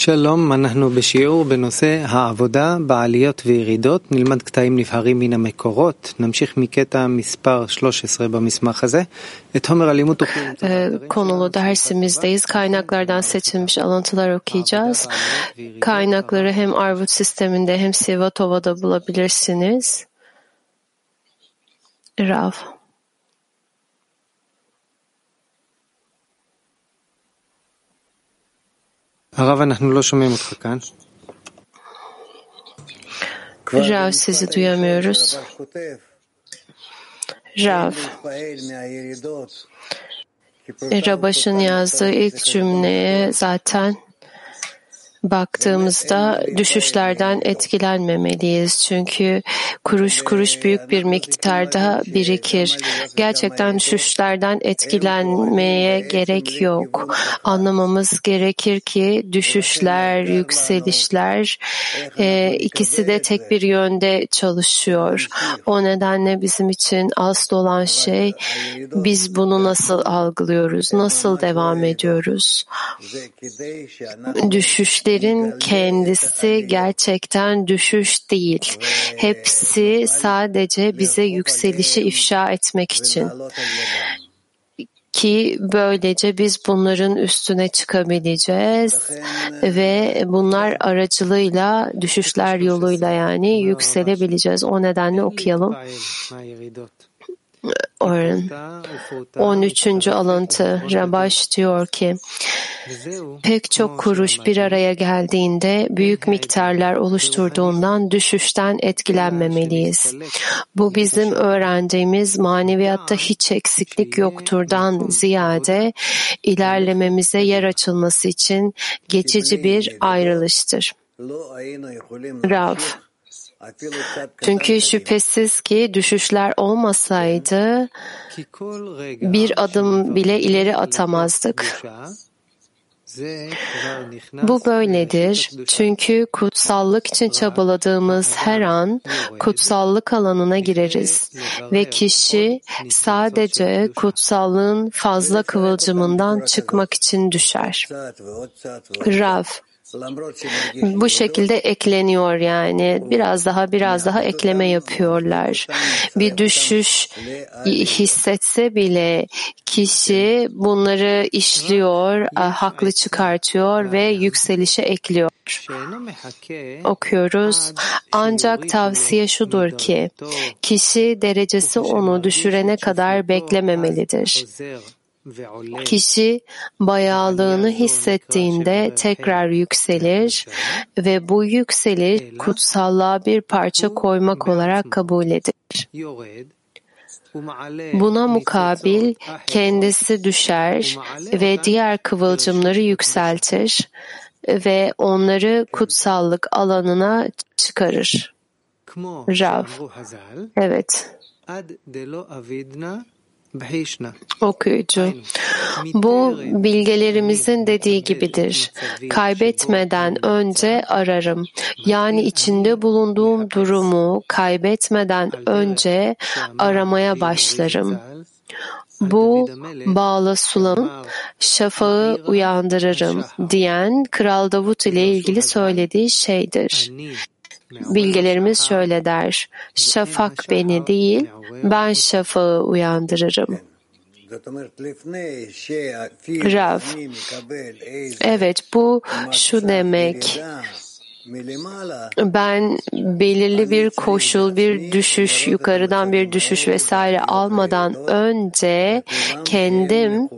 שלום, אנחנו בשיעור בנושא העבודה בעליות וירידות. נלמד קטעים נבחרים מן המקורות. נמשיך מקטע מספר 13 במסמך הזה. את חומר הלימוד תוכלו למצוא. Konulu dersimizdeyiz. Kaynaklardan seçilmiş alıntılar okuyacağız. Kaynakları hem Arvut sisteminde hem Sivatova'da bulabilirsiniz. Rav. הרב, אנחנו לא שומעים אותך כאן. Rav, sizi duyamıyoruz. Rav. Rabaş'ın yazdığı ilk cümleye zaten baktığımızda düşüşlerden etkilenmemeliyiz. Çünkü kuruş kuruş büyük bir miktarda birikir. Gerçekten düşüşlerden etkilenmeye gerek yok. Anlamamız gerekir ki düşüşler, yükselişler ikisi de tek bir yönde çalışıyor. O nedenle bizim için asıl olan şey biz bunu nasıl algılıyoruz, nasıl devam ediyoruz. Düşüşlerin kendisi gerçekten düşüş değil. Hepsi sadece bize yükselişi ifşa etmek için. Ki böylece biz bunların üstüne çıkabileceğiz ve bunlar aracılığıyla düşüşler yoluyla yani yükselebileceğiz. O nedenle okuyalım. 13. alıntı Rabaş diyor ki pek çok kuruş bir araya geldiğinde büyük miktarlar oluşturduğundan düşüşten etkilenmemeliyiz. Bu bizim öğrendiğimiz maneviyatta hiç eksiklik yokturdan ziyade ilerlememize yer açılması için geçici bir ayrılıştır. Rav. Çünkü şüphesiz ki düşüşler olmasaydı bir adım bile ileri atamazdık. Bu böyledir. Çünkü kutsallık için çabaladığımız her an kutsallık alanına gireriz ve kişi sadece kutsallığın fazla kıvılcımından çıkmak için düşer. Rav. Bu şekilde ekleniyor yani. Biraz daha ekleme yapıyorlar. Bir düşüş hissetse bile kişi bunları işliyor, haklı çıkartıyor ve yükselişe ekliyor. Okuyoruz. Ancak tavsiye şudur ki kişi derecesi onu düşürene kadar beklememelidir. Kişi bayağılığını hissettiğinde tekrar yükselir ve bu yükseliş kutsallığa bir parça koymak olarak kabul edilir. Buna mukabil kendisi düşer ve diğer kıvılcımları yükseltir ve onları kutsallık alanına çıkarır. Rav. Evet. Okuyucu. Bu bilgelerimizin dediği gibidir. Kaybetmeden önce ararım. Yani içinde bulunduğum durumu kaybetmeden önce aramaya başlarım. Bu Bağla Sulam'ın şafağı uyandırırım diyen Kral Davut ile ilgili söylediği şeydir. Bilgelerimiz şöyle der, şafak beni değil, ben şafağı uyandırırım. Rav, evet bu şu demek, ben belirli bir koşul, bir düşüş, yukarıdan bir düşüş vesaire almadan önce kendim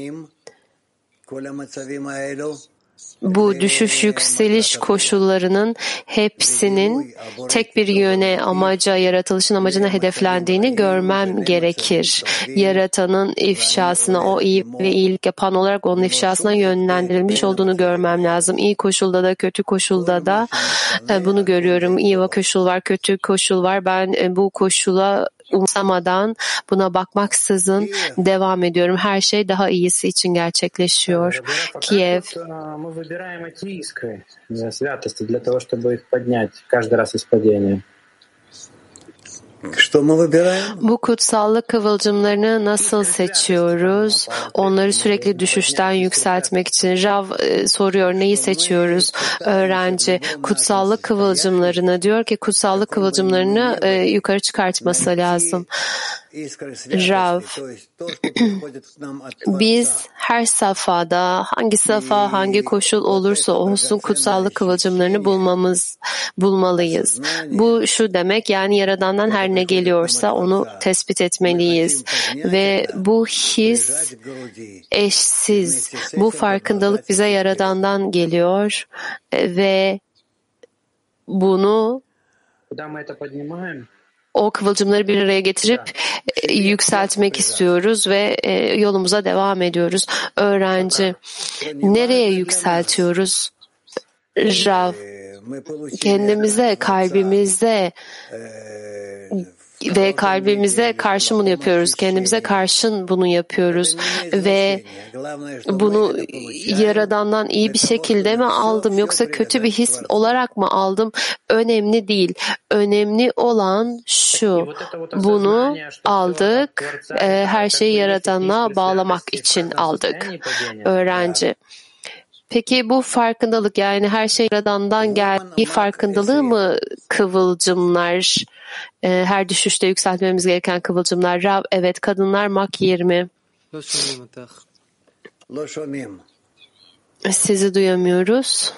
bu düşüş yükseliş koşullarının hepsinin tek bir yöne, amaca, yaratılışın amacına hedeflendiğini görmem gerekir. Yaratanın ifşasına, o iyi ve iyilik yapan olarak onun ifşasına yönlendirilmiş olduğunu görmem lazım. İyi koşulda da kötü koşulda da bunu görüyorum. İyi koşul var, kötü koşul var. Ben bu koşula umursamadan, buna bakmaksızın devam ediyorum. Her şey daha iyisi için gerçekleşiyor. Kiev. Bu kutsallık kıvılcımlarını nasıl seçiyoruz? Onları sürekli düşüşten yükseltmek için. Rav soruyor, neyi seçiyoruz? Öğrenci kutsallık kıvılcımlarını diyor ki kutsallık kıvılcımlarını yukarı çıkartması lazım. Rav, biz her safhada, hangi safha, hangi koşul olursa olsun kutsallık kıvılcımlarını bulmalıyız. Bu şu demek, yani Yaradan'dan her ne geliyorsa onu tespit etmeliyiz. Ve bu his eşsiz. Bu farkındalık bize Yaradan'dan geliyor ve bunu o kıvılcımları bir araya getirip yükseltmek istiyoruz ve yolumuza devam ediyoruz. Öğrenci, nereye yükseltiyoruz? Rav, kendimize, kalbimize ve kalbimize karşı bunu yapıyoruz. Kendimize karşın bunu yapıyoruz ve bunu Yaradan'dan iyi bir şekilde mi aldım yoksa kötü bir his olarak mı aldım? Önemli değil. Önemli olan şu. Bunu aldık. Her şeyi Yaradan'a bağlamak için aldık. Öğrenci. Peki bu farkındalık, yani her şey Yaradan'dan geldiği farkındalığı mı kıvılcımlar? Her düşüşte yükseltmemiz gereken kıvılcımlar. Rav, evet, kadınlar Mak 20. Sizi duyamıyoruz.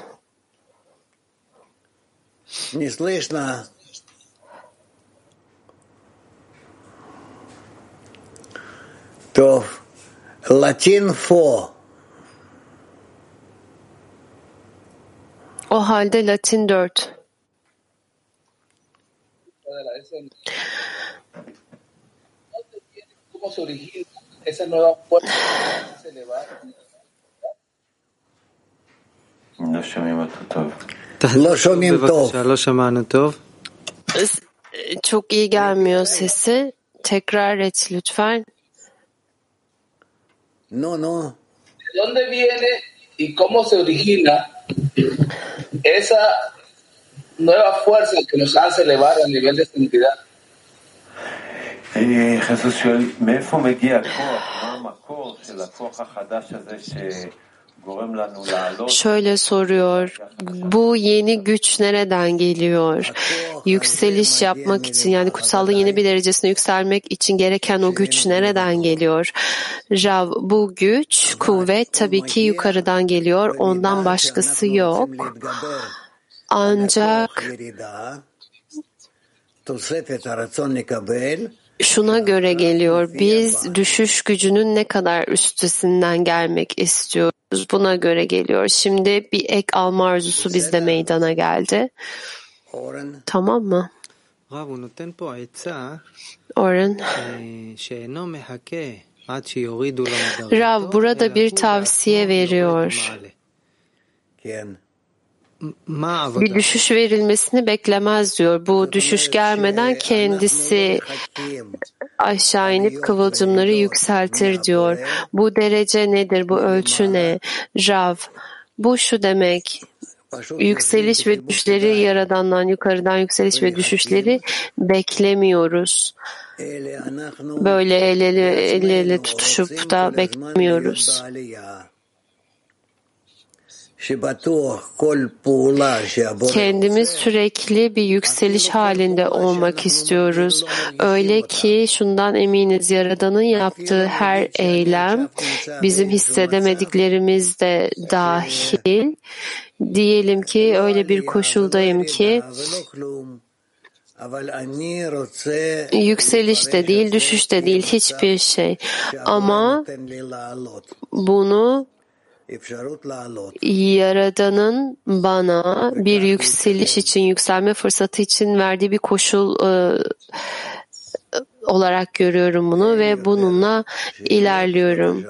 Latin 4. O halde Latin 4. Çok iyi gelmiyor sesi. Tekrar et lütfen. No. ¿De dónde viene y cómo se origina esa nueva fuerza que nos hace elevar a nivel de santidad? חיסוס שואל, מאיפה מגיע הכוח? מה המקור של הכוח החדש הזה שגורם לנו לעלות? Şöyle soruyor, bu yeni güç nereden geliyor? Yükseliş yapmak için, yani kutsallığın yeni bir derecesine yükselmek için gereken o güç nereden geliyor? Rav, bu güç, kuvvet tabii ki yukarıdan geliyor, ondan başkası yok. Ancak şuna göre geliyor, biz düşüş gücünün ne kadar üstesinden gelmek istiyoruz, buna göre geliyor. Şimdi bir ek alma arzusu bizde meydana geldi. Tamam mı? Orhan. Rav burada bir tavsiye veriyor. Bir düşüş verilmesini beklemez diyor. Bu düşüş gelmeden kendisi aşağı inip kıvılcımları yükseltir diyor. Bu derece nedir? Bu ölçü ne? Rav, bu şu demek. Yükseliş ve düşüşleri Yaradan'dan, yukarıdan yükseliş ve düşüşleri beklemiyoruz. Böyle el ele tutuşup da beklemiyoruz. Kendimiz sürekli bir yükseliş halinde olmak istiyoruz. Öyle ki şundan eminiz, Yaradan'ın yaptığı her eylem bizim hissedemediklerimiz de dahil. Diyelim ki öyle bir koşuldayım ki yükseliş de değil, düşüş de değil, hiçbir şey. Ama bunu Yaradan'ın bana bir yükseliş için, yükselme fırsatı için verdiği bir koşul olarak görüyorum bunu ve bununla ilerliyorum.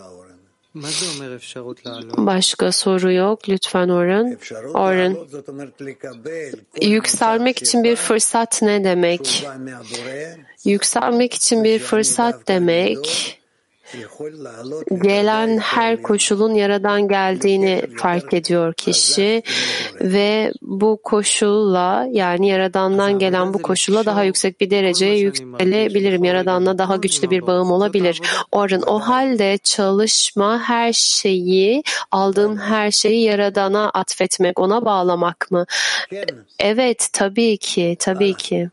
Başka soru yok. Lütfen Orhan. Orhan. Yükselmek için bir fırsat ne demek? Yükselmek için bir fırsat demek, gelen her koşulun Yaradan geldiğini fark ediyor kişi ve bu koşulla, yani Yaradan'dan gelen bu koşulla daha yüksek bir dereceye yükselebilirim. Yaradan'la daha güçlü bir bağım olabilir. O halde çalışma her şeyi, aldığım her şeyi Yaradan'a atfetmek, ona bağlamak mı? Evet, tabii ki, tabii ki.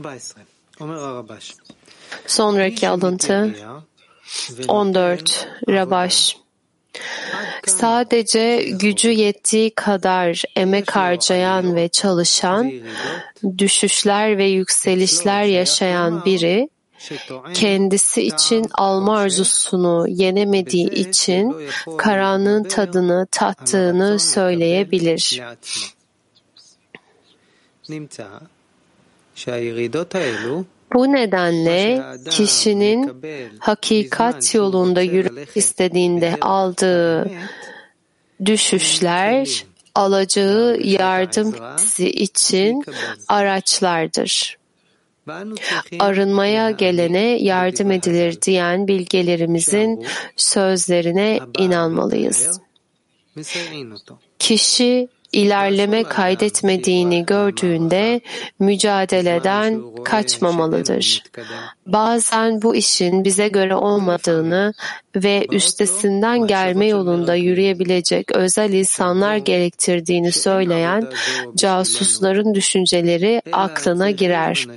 Sonraki alıntı 14. Rabaş. Sadece gücü yettiği kadar emek harcayan ve çalışan, düşüşler ve yükselişler yaşayan biri, kendisi için alma arzusunu yenemediği için karanlığın tadını tattığını söyleyebilir. Bu nedenle kişinin hakikat yolunda yürümek istediğinde aldığı düşüşler, alacağı yardım hissi için araçlardır. Arınmaya gelene yardım edilir diyen bilgelerimizin sözlerine inanmalıyız. Kişi ilerleme kaydetmediğini gördüğünde mücadeleden kaçmamalıdır. Bazen bu işin bize göre olmadığını ve üstesinden gelme yolunda yürüyebilecek özel insanlar gerektirdiğini söyleyen casusların düşünceleri aklına girer.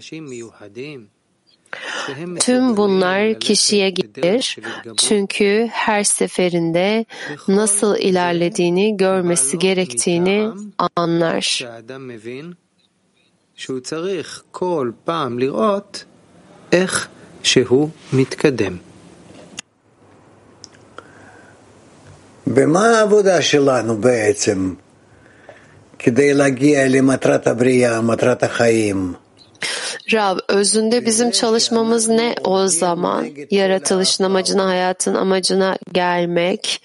Tüm bunlar kişiye gelir çünkü her seferinde nasıl ilerlediğini görmesi gerektiğini anlar. במה העבודה שלנו בעצם כדי להגיע למטרת הבריאה, מטרת החיים? Rab, özünde bizim çalışmamız ne o zaman? Yaratılışın amacına, hayatın amacına gelmek.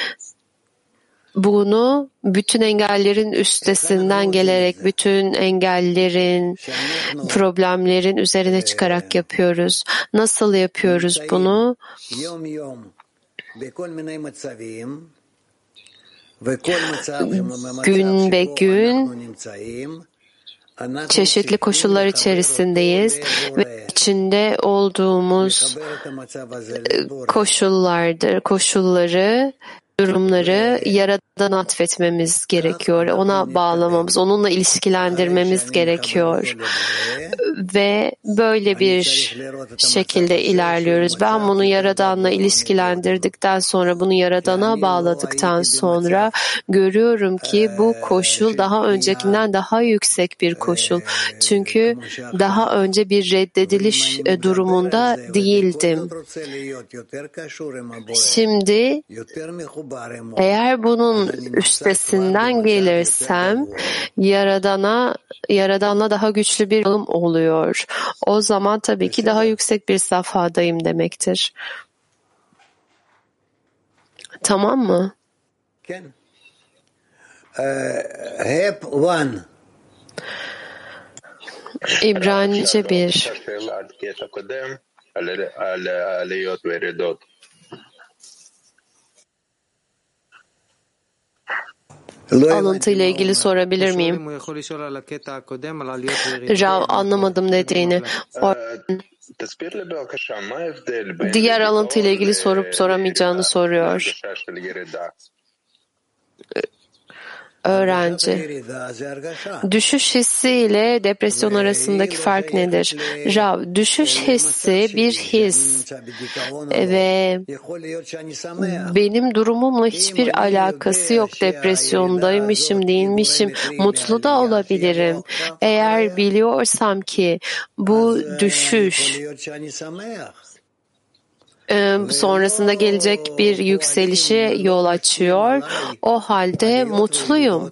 Bunu bütün engellerin üstesinden gelerek, bütün engellerin, problemlerin üzerine çıkarak yapıyoruz. Nasıl yapıyoruz bunu? Gün be gün çeşitli koşullar içerisindeyiz ve içinde olduğumuz koşulları, durumları Yaradan atfetmemiz gerekiyor. Ona bağlamamız, onunla ilişkilendirmemiz gerekiyor. Ve böyle bir şekilde ilerliyoruz. Ben bunu Yaradan'la ilişkilendirdikten sonra, bunu Yaradana bağladıktan sonra görüyorum ki bu koşul daha öncekinden daha yüksek bir koşul. Çünkü daha önce bir reddediliş durumunda değildim. Şimdi eğer bunun üstesinden gelirsem Yaradan'la daha güçlü bir bağım oluyor. O zaman tabii ki daha yüksek bir safhadayım demektir. Tamam mı? İbranice 1. Alıntı ile ilgili sorabilir miyim? Rav, anlamadım dediğini. Diğer alıntı ile ilgili sorup soramayacağını soruyor. Öğrenci. Düşüş hissi ile depresyon arasındaki fark nedir? Rav, düşüş hissi bir his ve benim durumumla hiçbir alakası yok. Depresyondaymışım, değilmişim, mutlu da olabilirim. Eğer biliyorsam ki bu düşüş sonrasında gelecek bir yükselişe yol açıyor, o halde mutluyum.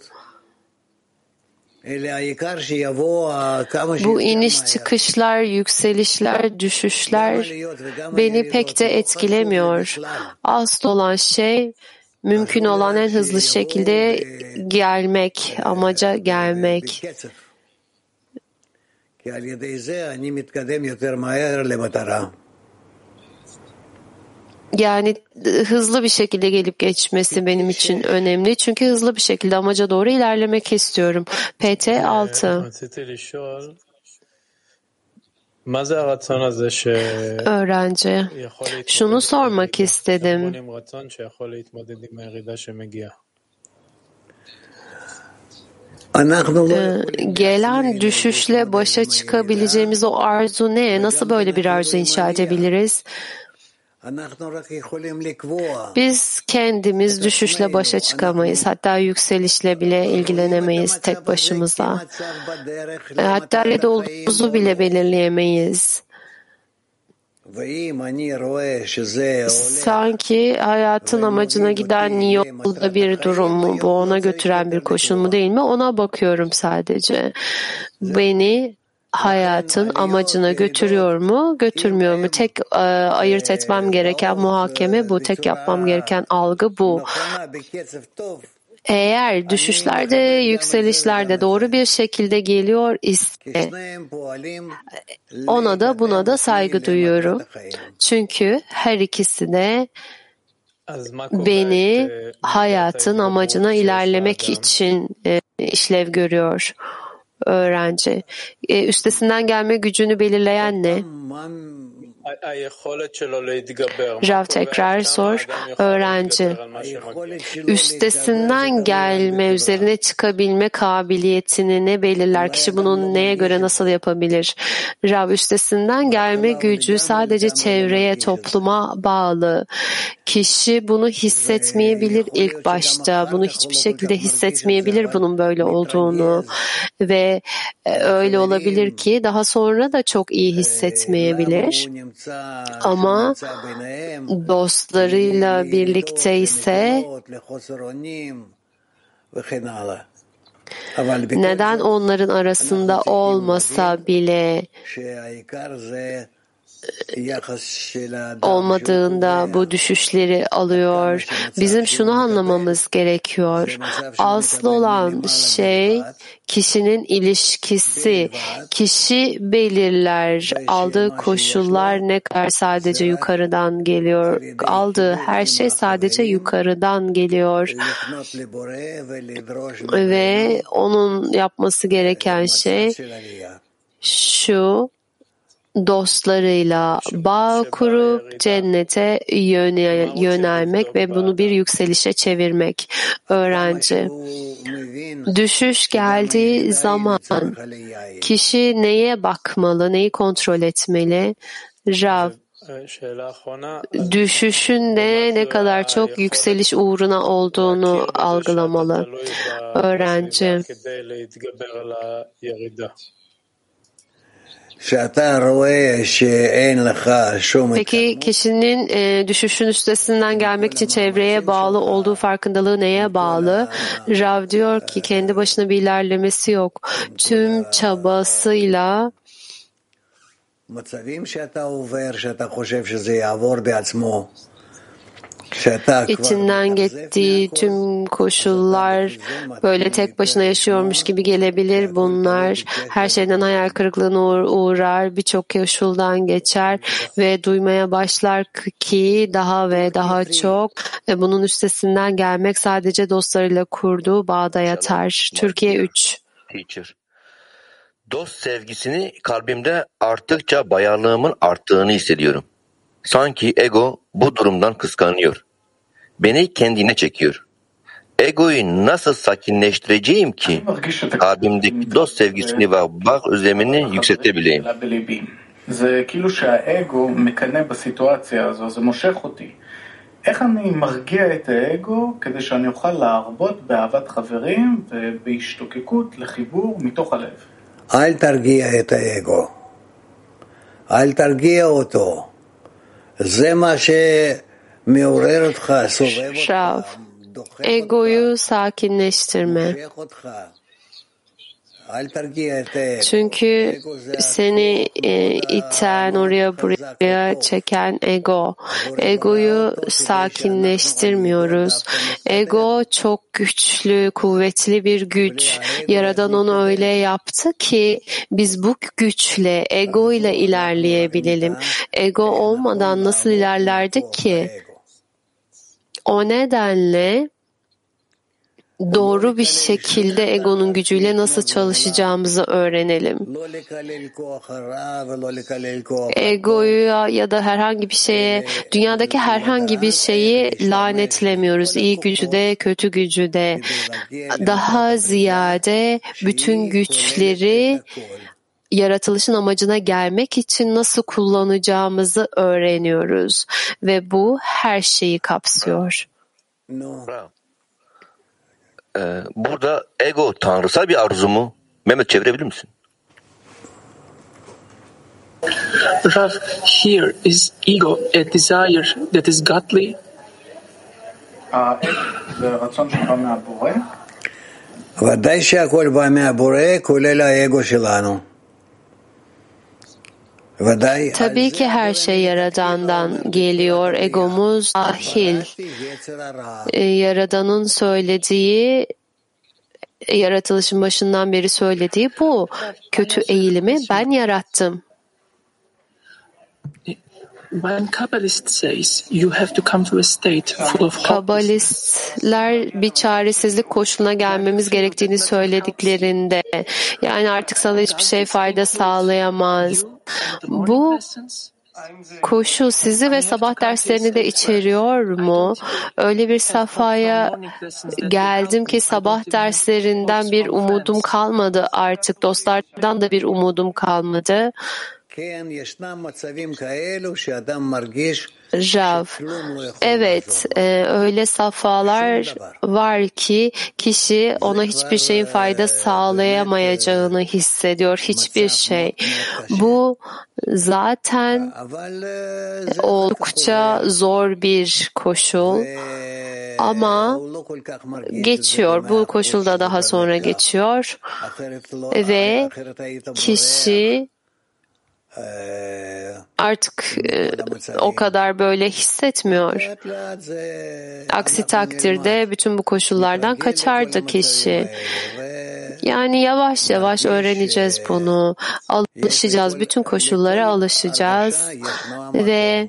Bu iniş çıkışlar, yükselişler, düşüşler beni pek de etkilemiyor. Asıl olan şey mümkün olan en hızlı şekilde gelmek, amaca gelmek. Yani hızlı bir şekilde gelip geçmesi benim için önemli. Çünkü hızlı bir şekilde amaca doğru ilerlemek istiyorum. PT 6. Öğrenci. Şunu sormak istedim. Gelen düşüşle başa çıkabileceğimiz o arzu ne? Nasıl böyle bir arzu inşa edebiliriz? Biz kendimiz düşüşle başa çıkamayız. Hatta yükselişle bile ilgilenemeyiz tek başımıza. Hatta nerede olduğumuzu bile belirleyemeyiz. Sanki hayatın amacına giden yolda bir durum mu? Bu ona götüren bir koşul mu değil mi? Ona bakıyorum sadece. Beni hayatın amacına götürüyor mu, götürmüyor mu? Tek ayırt etmem gereken muhakeme bu. Tek yapmam gereken algı bu. Eğer düşüşlerde, yükselişlerde doğru bir şekilde geliyor ise ona da buna da saygı duyuyorum. Çünkü her ikisi de beni hayatın amacına ilerlemek için işlev görüyor. Öğrenci. Üstesinden gelme gücünü belirleyen ne? Rav tekrar sor. Öğrenci. Üstesinden gelme, üzerine çıkabilme kabiliyetini ne belirler? Kişi bunu neye göre nasıl yapabilir? Rav, üstesinden gelme gücü sadece çevreye, topluma bağlı. Kişi bunu hissetmeyebilir ilk başta. Bunu hiçbir şekilde hissetmeyebilir bunun böyle olduğunu. Ve öyle olabilir ki daha sonra da çok iyi hissetmeyebilir. Ama dostlarıyla birlikte ise neden onların arasında olmasa bile olmadığında bu düşüşleri alıyor. Bizim şunu anlamamız gerekiyor. Asıl olan şey kişinin ilişkisi. Kişi belirler. Aldığı koşullar ne kadar sadece yukarıdan geliyor. Aldığı her şey sadece yukarıdan geliyor. Ve onun yapması gereken şey şu: dostlarıyla bağ kurup cennete yönelmek ve bunu bir yükselişe çevirmek. Öğrenci. Düşüş geldiği zaman kişi neye bakmalı, neyi kontrol etmeli? Rav, düşüşün de ne kadar çok yükseliş uğruna olduğunu algılamalı. Öğrenci. Peki kişinin düşüşün üstesinden gelmek için çevreye bağlı olduğu farkındalığı neye bağlı? Rav diyor ki kendi başına bir ilerlemesi yok. Tüm çabasıyla İçinden geçtiği tüm koşullar böyle tek başına yaşıyormuş gibi gelebilir bunlar. Her şeyden hayal kırıklığına uğrar, birçok koşuldan geçer ve duymaya başlar ki daha ve daha çok bunun üstesinden gelmek sadece dostlarıyla kurduğu bağda yatar. Türkiye 3. Teacher. Dost sevgisini kalbimde arttıkça bayarlığımın arttığını hissediyorum. Sanki ego bu durumdan kıskanıyor. Beni kendine çekiyor. Egoyu nasıl sakinleştireceğim ki kalbimdeki dost sevgisini ve bağ özlemini yükseltebileyim? זה כאילו שהאגו מקנא בסיטואציה הזו, זה מושך אותי. איך אני מרגיע את האגו כדי שאני אוכל להרבות באהבת חברים ובהשתוקקות לחיבור מתוך הלב? אל תרגיע את האגו. אל תרגיע אותו. זה מה שמעורר אותך, סובב אותך, דוחף אותך, egoyu sakinleştirme. מושך אותך. Çünkü seni iten, oraya buraya çeken ego. Egoyu sakinleştirmiyoruz. Ego çok güçlü, kuvvetli bir güç. Yaradan onu öyle yaptı ki biz bu güçle, ego ile ilerleyebilelim. Ego olmadan nasıl ilerlerdik ki? O nedenle doğru bir şekilde egonun gücüyle nasıl çalışacağımızı öğrenelim. Egoya ya da herhangi bir şeye, dünyadaki herhangi bir şeyi lanetlemiyoruz. İyi gücü de, kötü gücü de. Daha ziyade bütün güçleri yaratılışın amacına gelmek için nasıl kullanacağımızı öğreniyoruz. Ve bu her şeyi kapsıyor. Burada ego tanrısal bir arzu mu? Mehmet çevirebilir misin? Rav, here is ego a desire that is godly? ודאי שהכל בא מהבורא, כולל האגו שלנו. Tabii ki her şey Yaradan'dan geliyor, egomuz dahil. Yaradan'ın söylediği, yaratılışın başından beri söylediği bu. Kötü eğilimi ben yarattım. When Kabbalist says you have to come to a state full of Kabbalistler bir çaresizlik koşuluna gelmemiz gerektiğini söylediklerinde, yani artık sana hiçbir şey fayda sağlayamaz. Bu koşul sizi ve sabah derslerini de içeriyor mu? Öyle bir safhaya geldim ki sabah derslerinden bir umudum kalmadı artık. Dostlardan da bir umudum kalmadı. Rav, evet, öyle safhalar var ki kişi ona hiçbir şeyin fayda sağlayamayacağını hissediyor, hiçbir şey. Bu zaten oldukça zor bir koşul ama geçiyor. Bu koşulda daha sonra geçiyor ve kişi artık o kadar böyle hissetmiyor. Aksi takdirde bütün bu koşullardan kaçardı kişi. Yani yavaş yavaş öğreneceğiz bunu. Alışacağız. Bütün koşullara alışacağız. Ve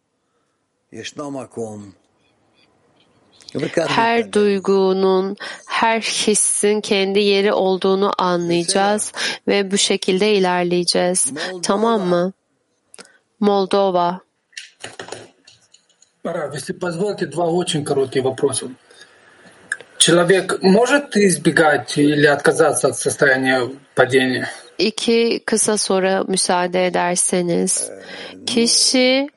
her duygunun, her hissin kendi yeri olduğunu anlayacağız ve bu şekilde ilerleyeceğiz. Tamam mı? Moldova. Рав, если позволите, два очень коротких вопроса. Человек может избегать или отказаться от состояния падения? İki kısa soru müsaade ederseniz. Kişi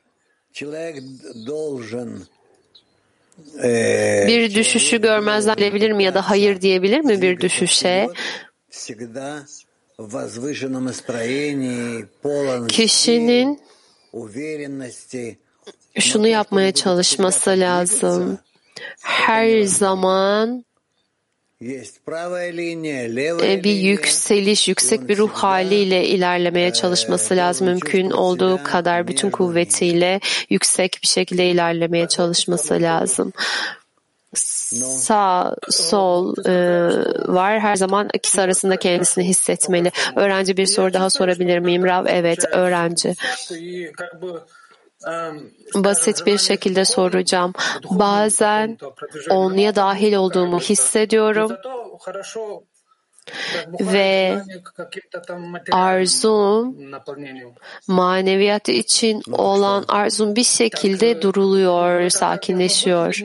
bir düşüşü görmezden gelebilir mi ya da hayır diyebilir mi bir düşüşe? Kişinin şunu yapmaya çalışması lazım. Her zaman bir yükseliş, yüksek bir ruh haliyle ilerlemeye çalışması lazım. Mümkün olduğu kadar bütün kuvvetiyle yüksek bir şekilde ilerlemeye çalışması lazım. Sağ, sol var. Her zaman ikisi arasında kendisini hissetmeli. Öğrenci bir soru daha sorabilir miyim? Rav, evet, öğrenci. Basit bir şekilde soracağım. Bazen onluya dahil olduğumu hissediyorum ve arzum, maneviyat için olan arzum bir şekilde duruluyor, sakinleşiyor.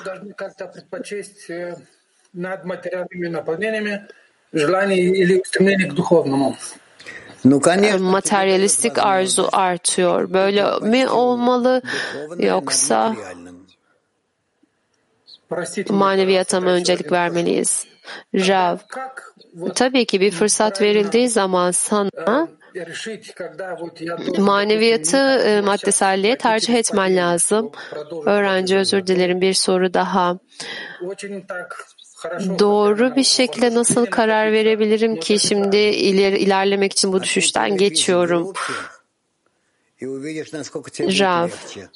Materyalistik arzu artıyor. Böyle mi olmalı yoksa maneviyata mı öncelik vermeliyiz? Rav, tabii ki bir fırsat verildiği zaman sana maneviyatı maddeselliğe tercih etmen lazım. Öğrenci, özür dilerim, bir soru daha. doğru bir şekilde nasıl karar verebilirim ki şimdi ilerlemek için bu düşüşten geçiyorum? Rav.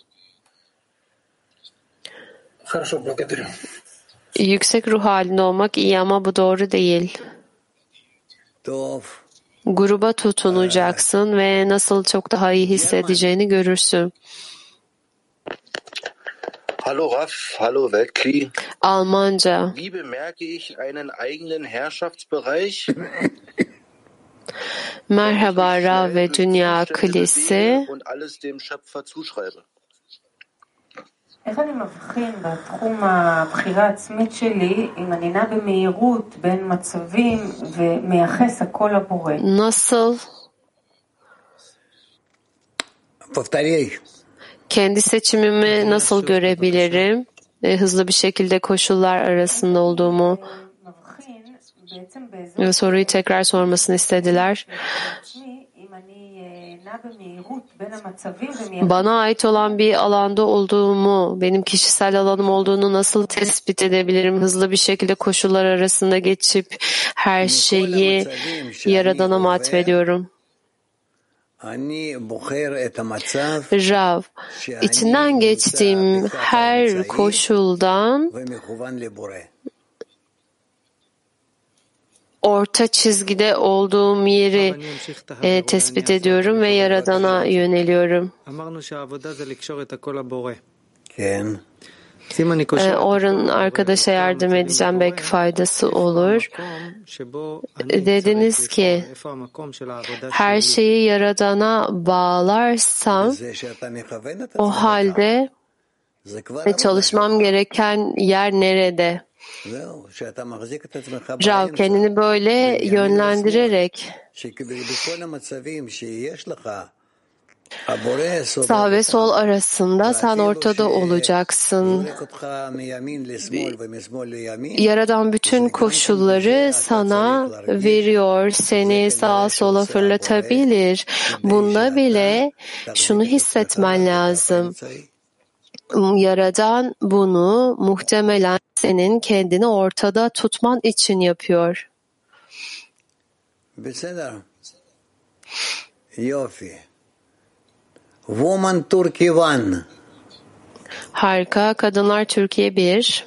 Yüksek ruh halinde olmak iyi ama bu doğru değil. Gruba tutunacaksın ve nasıl çok daha iyi hissedeceğini görürsün. Hallo Rav, hallo Weltkli. Almanca. Wie bemerke ich einen eigenen Herrschaftsbereich? Merhaba Rav ve Dünya Klisi. Und alles dem Schöpfer zuschreibe. איך אני מבחין בתחום הבחירה העצמית שלי אם אני נע במהירות בין מצבים ומייחס הכל לבורא? Nasıl? Kendi seçimimi nasıl görebilirim? Hızlı bir şekilde koşullar arasında olduğumu. Soruyu tekrar sormasını istediler. Bana ait olan bir alanda olduğumu, benim kişisel alanım olduğunu nasıl tespit edebilirim? Hızlı bir şekilde koşullar arasında geçip her şeyi Yaradan'a mı atfediyorum? Rav, içinden geçtiğim her koşuldan orta çizgide olduğum yeri tespit ediyorum ve Yaradan'a yöneliyorum. Orhan arkadaşa yardım edeceğim, belki faydası olur. Dediniz ki her şeyi Yaradan'a bağlarsam o halde çalışmam gereken yer nerede? Rav, kendini böyle yönlendirerek sağ ve sol arasında sen ortada olacaksın. Yaradan bütün koşulları sana veriyor, seni sağa sola fırlatabilir. Bunda bile şunu hissetmen lazım. Yaradan bunu muhtemelen senin kendini ortada tutman için yapıyor. Woman Turkey 1. Harika. Kadınlar Türkiye 1.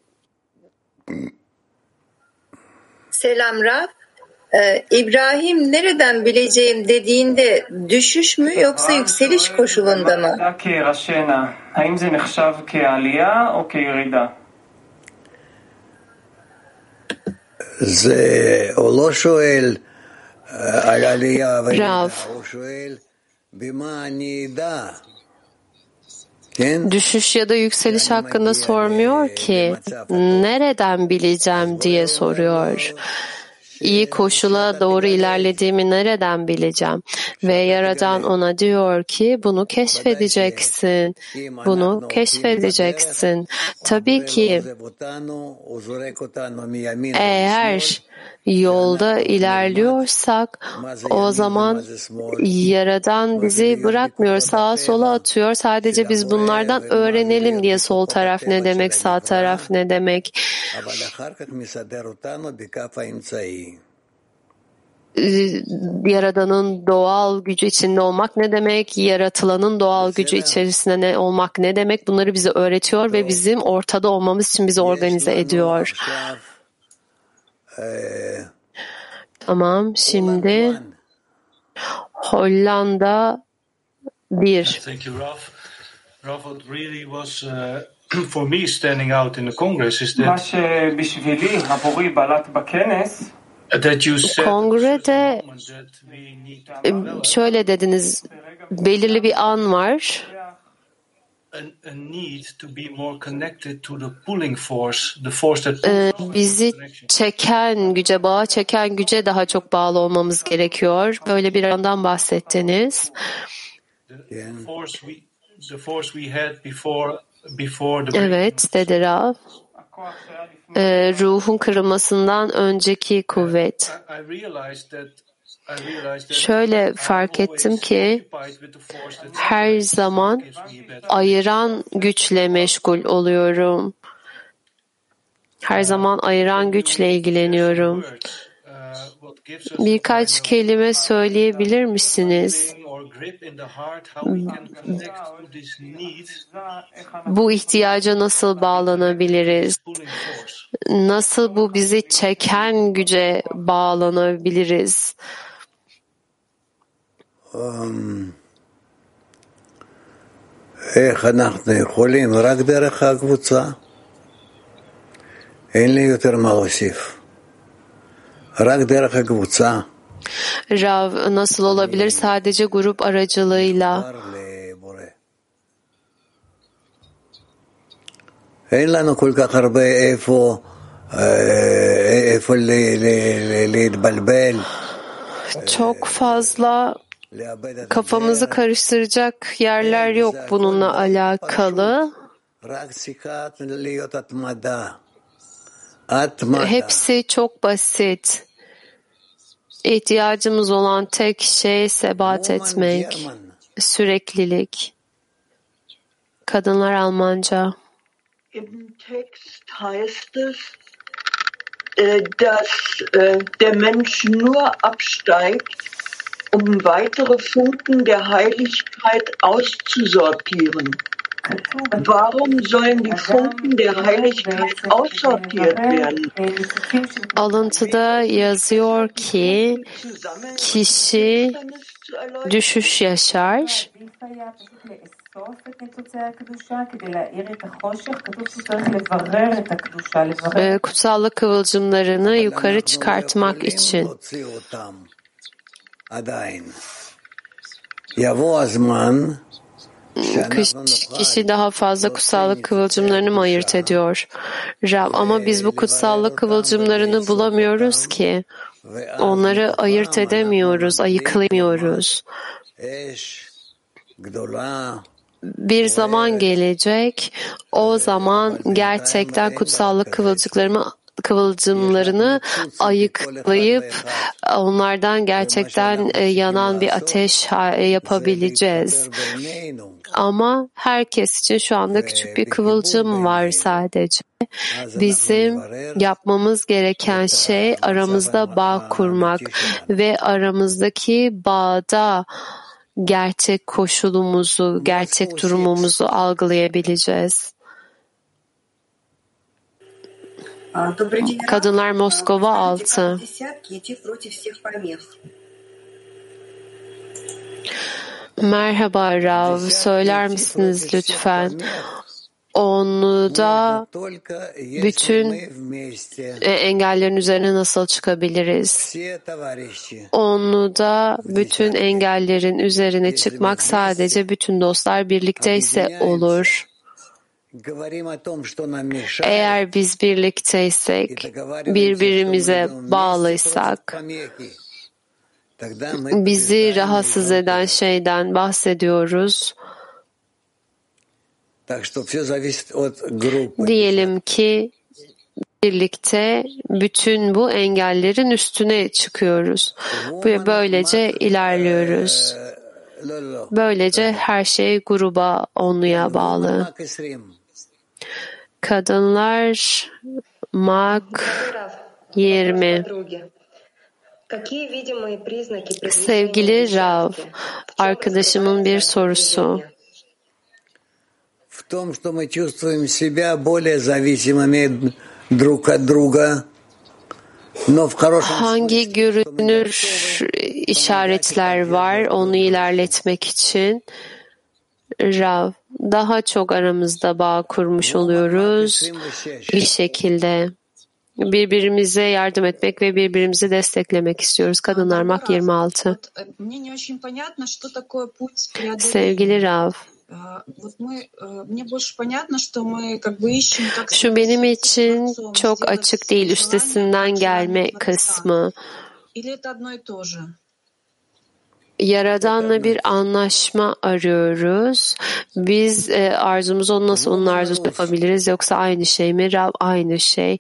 Selam Rav. İbrahim nereden bileceğim dediğinde düşüş mü yoksa yükseliş koşulunda mı? Rav, düşüş ya da yükseliş hakkında sormuyor ki, nereden bileceğim diye soruyor. İyi koşula doğru ilerlediğimi nereden bileceğim? Ve Yaradan ona diyor ki bunu keşfedeceksin. Bunu keşfedeceksin. Tabii ki eğer yolda ilerliyorsak o zaman Yaradan bizi bırakmıyor, sağa sola atıyor. Sadece biz bunlardan öğrenelim diye sol taraf ne demek, sağ taraf ne demek. Yaradan'ın doğal gücü içinde olmak ne demek, yaratılanın doğal gücü içerisinde olmak ne demek, bunları bize öğretiyor ve bizim ortada olmamız için bizi organize ediyor. Tamam, şimdi Hollanda 1. Thank you, Rav. Rav, what really was for me standing out in the Congress is that Kongrede şöyle dediniz, belirli bir an var. Bizi çeken güce, bağa çeken güce daha çok bağlı olmamız gerekiyor. Böyle bir andan bahsettiniz. Evet, dedi Rav. Ruhun kırılmasından önceki kuvvet. Şöyle fark ettim ki her zaman ayıran güçle meşgul oluyorum. Her zaman ayıran güçle ilgileniyorum. Birkaç kelime söyleyebilir misiniz? Bu ihtiyaca nasıl bağlanabiliriz? Nasıl bu bizi çeken güce bağlanabiliriz? איך אנחנו יכולים? רק דרך הקבוצה. אין לי יותר מה להוסיף. רק דרך הקבוצה. Rav, nasıl olabilir? Sadece grup aracılığıyla. אין לנו כל כך הרבה איפה להתבלבל. Çok fazla kafamızı karıştıracak yerler yok bununla alakalı. Hepsi çok basit. İhtiyacımız olan tek şey sebat etmek, süreklilik. Kadınlar Almanca. Im Text heißt es, dass der Mensch nur absteigt, um weitere Funken der Heiligkeit auszusortieren. Warum sollen die Funken der Heiligkeit aussortiert werden? Alıntıda yazıyor ki kişi düşüş yaşar. Kutsallık kıvılcımlarını yukarı çıkartmak için. Kişi daha fazla kutsallık kıvılcımlarını mı ayırt ediyor? Rab, ama biz bu kutsallık kıvılcımlarını bulamıyoruz ki. Onları ayırt edemiyoruz, ayıklayamıyoruz. Bir zaman gelecek, o zaman gerçekten kutsallık kıvılcımlarını ayıklayıp onlardan gerçekten yanan bir ateş yapabileceğiz. Ama herkes için şu anda küçük bir kıvılcım var sadece. Bizim yapmamız gereken şey aramızda bağ kurmak ve aramızdaki bağda gerçek koşulumuzu, gerçek durumumuzu algılayabileceğiz. Kadınlar Moskova 6. Merhaba Rav, söyler misiniz lütfen? Onu da bütün engellerin üzerine nasıl çıkabiliriz? Onu da bütün engellerin üzerine çıkmak sadece bütün dostlar birlikteyse olur. Eğer biz birlikteysek, birbirimize bağlıysak, bizi rahatsız eden şeyden bahsediyoruz. Diyelim ki birlikte bütün bu engellerin üstüne çıkıyoruz. Böylece ilerliyoruz. Böylece her şey gruba, onluya bağlı. Kadınlar Mak 20. Sevgili Rav, arkadaşımın bir sorusu. Hangi görünür işaretler var onu ilerletmek için? Rav, daha çok aramızda bağ kurmuş oluyoruz bir şekilde. Birbirimize yardım etmek ve birbirimizi desteklemek istiyoruz. Kadınlar Mak 26. Sevgili Rav, şu benim için çok açık değil, üstesinden gelme kısmı. Yaradan'la bir anlaşma arıyoruz. Biz arzumuzu onu nasıl onun arzusu yapabiliriz, yoksa aynı şey mi? Rab, aynı şey.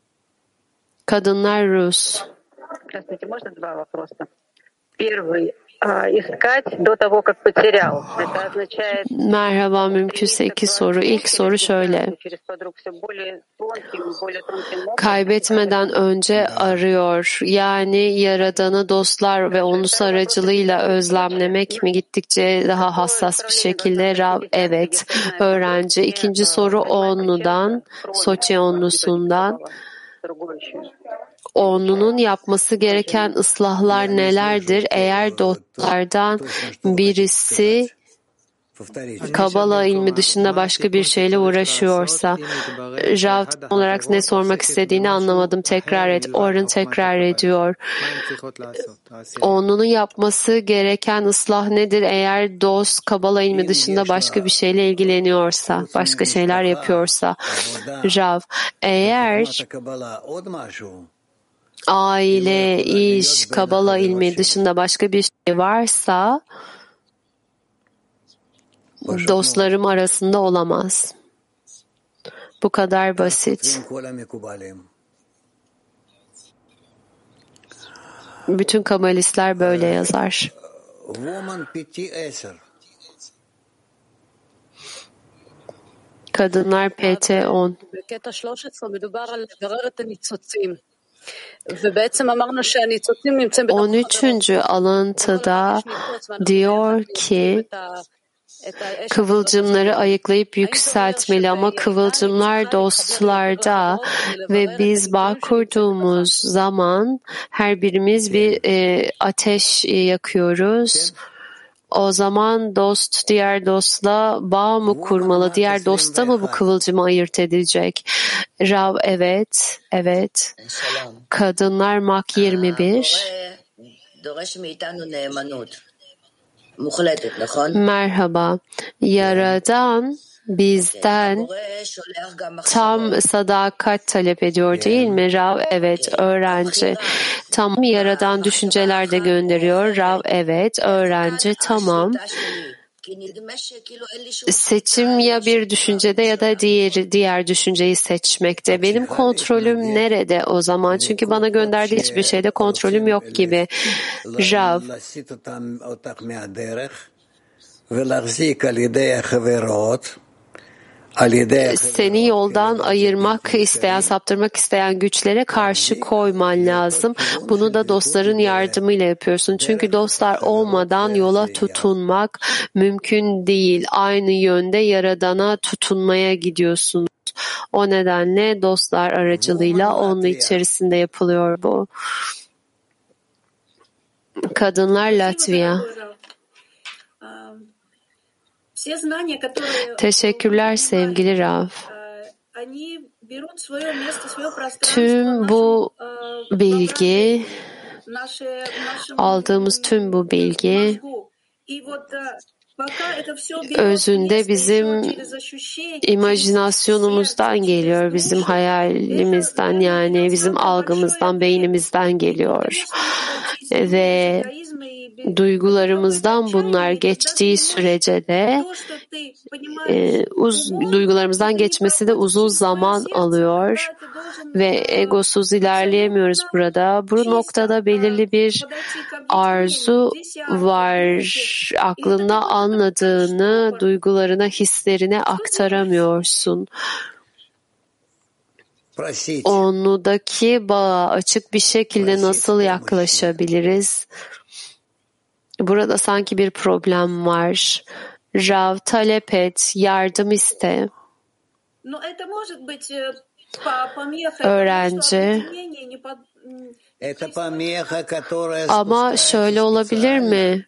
Kadınlar Rus. Merhaba, mümkünse 2 soru. İlk soru şöyle. Kaybetmeden önce arıyor. Yani Yaradan'ı dostlar ve onun aracılığıyla özlemlemek mi gittikçe daha hassas bir şekilde? Rav, evet. Öğrenci. İkinci soru Onlu'dan, Soçi Onlusu'ndan. Onlu'nun yapması gereken ıslahlar nelerdir? Eğer dostlardan birisi Kabala ilmi dışında başka bir şeyle uğraşıyorsa, Rav olarak ne sormak istediğini anlamadım. Tekrar et. Orun tekrar ediyor. Onlu'nun yapması gereken ıslah nedir? Eğer dost Kabala ilmi dışında başka bir şeyle ilgileniyorsa, başka şeyler yapıyorsa, Rav, eğer aile, iş, Kabala ilmi dışında başka bir şey varsa dostlarım arasında olamaz. Bu kadar basit. Bütün kabalistler böyle yazar. Kadınlar PT 10. 13. alıntıda diyor ki kıvılcımları ayıklayıp yükseltmeli ama kıvılcımlar dostlarda ve biz bağ kurduğumuz zaman her birimiz bir ateş yakıyoruz. O zaman dost diğer dostla bağ mı kurmalı? Diğer dosta mı bu kıvılcımı ayırt edecek? Rav, evet, evet. Kadınlar Mak 21. Merhaba. Yaradan bizden tam sadakat talep ediyor değil mi? Rav, evet. Öğrenci. Tamam. Yaradan düşünceler de gönderiyor. Rav, evet. Öğrenci. Tamam. Seçim ya bir düşüncede ya da diğer düşünceyi seçmekte. Benim kontrolüm nerede o zaman? Çünkü bana gönderdiği hiçbir şeyde kontrolüm yok gibi. Rav, seni yoldan ayırmak isteyen, saptırmak isteyen güçlere karşı koyman lazım. Bunu da dostların yardımıyla yapıyorsun. Çünkü dostlar olmadan yola tutunmak mümkün değil. Aynı yönde Yaradan'a tutunmaya gidiyorsunuz. O nedenle dostlar aracılığıyla onun içerisinde yapılıyor bu. Kadınlar Latvia. Teşekkürler sevgili Rav. Tüm bu bilgi, aldığımız tüm bu bilgi özünde bizim imajinasyonumuzdan geliyor, bizim hayalimizden, yani bizim algımızdan, beynimizden geliyor. Ve duygularımızdan bunlar geçtiği sürece de duygularımızdan geçmesi de uzun zaman alıyor ve egosuz ilerleyemiyoruz burada. Bu noktada belirli bir arzu var. Aklında anladığını duygularına, hislerine aktaramıyorsun. Onudaki bağa açık bir şekilde nasıl yaklaşabiliriz? Burada sanki bir problem var. Rav, talep et, yardım iste. Öğrenci. Ama şöyle olabilir mi?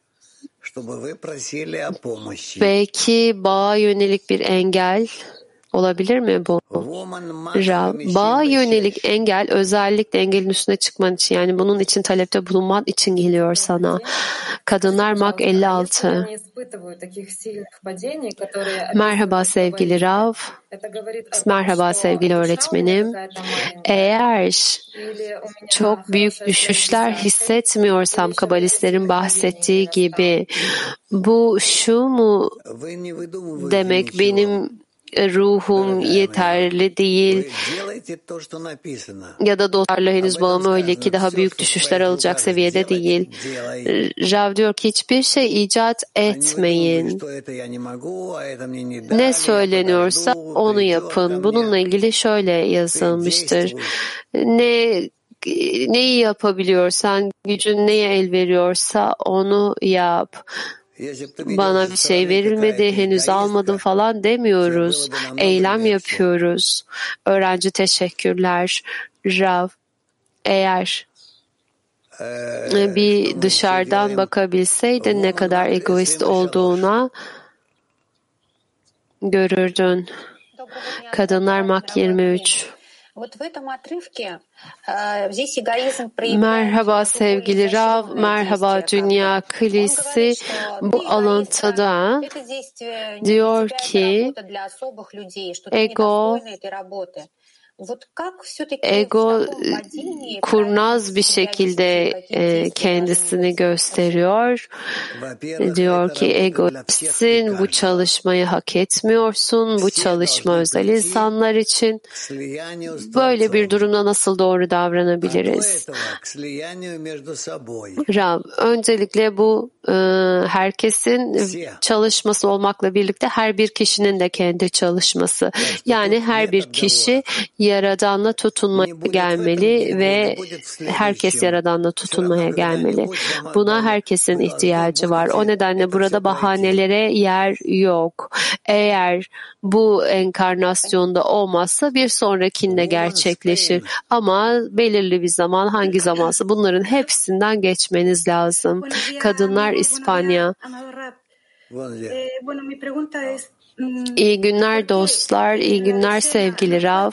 Belki bağa yönelik bir engel olabilir mi bu? Rav, bağa yönelik engel özellikle engelin üstüne çıkman için, yani bunun için talepte bulunman için geliyor sana. Kadınlar Mak 56. Merhaba sevgili Rav. Merhaba sevgili öğretmenim. Eğer çok büyük düşüşler hissetmiyorsam kabalistlerin bahsettiği gibi, bu şu mu demek, benim ruhum yeterli değil ya da dostlarla henüz bağım öyle ki daha büyük düşüşler alacak seviyede değil. Rav diyor ki hiçbir şey icat etmeyin. Ne söyleniyorsa onu yapın. Bununla ilgili şöyle yazılmıştır. Neyi yapabiliyorsan, gücün neye el veriyorsa onu yap. Bana bir şey verilmedi, henüz almadım falan demiyoruz. Eylem yapıyoruz. Öğrenci teşekkürler. Rav, eğer bir dışarıdan bakabilseydin ne kadar egoist olduğuna görürdün. Kadınlar Mak 23. Merhaba sevgili Rav, merhaba Dünya Kilisi. Bu alıntıda diyor ki ego kurnaz bir şekilde kendisini gösteriyor. Diyor ki egoistsin, bu çalışmayı hak etmiyorsun, bu çalışma özel insanlar için. Böyle bir durumda nasıl doğru davranabiliriz? Rav, öncelikle bu herkesin çalışması olmakla birlikte her bir kişinin de kendi çalışması. Yani her bir kişi Yaradan'la tutunmaya gelmeli ve herkes Yaradan'la tutunmaya gelmeli. Buna herkesin ihtiyacı var. O nedenle burada bahanelere yer yok. Eğer bu enkarnasyonda olmazsa bir sonrakinde gerçekleşir. Ama belirli bir zaman, hangi zamansa bunların hepsinden geçmeniz lazım. Kadınlar İspanya. İyi günler dostlar, iyi günler sevgili Rav.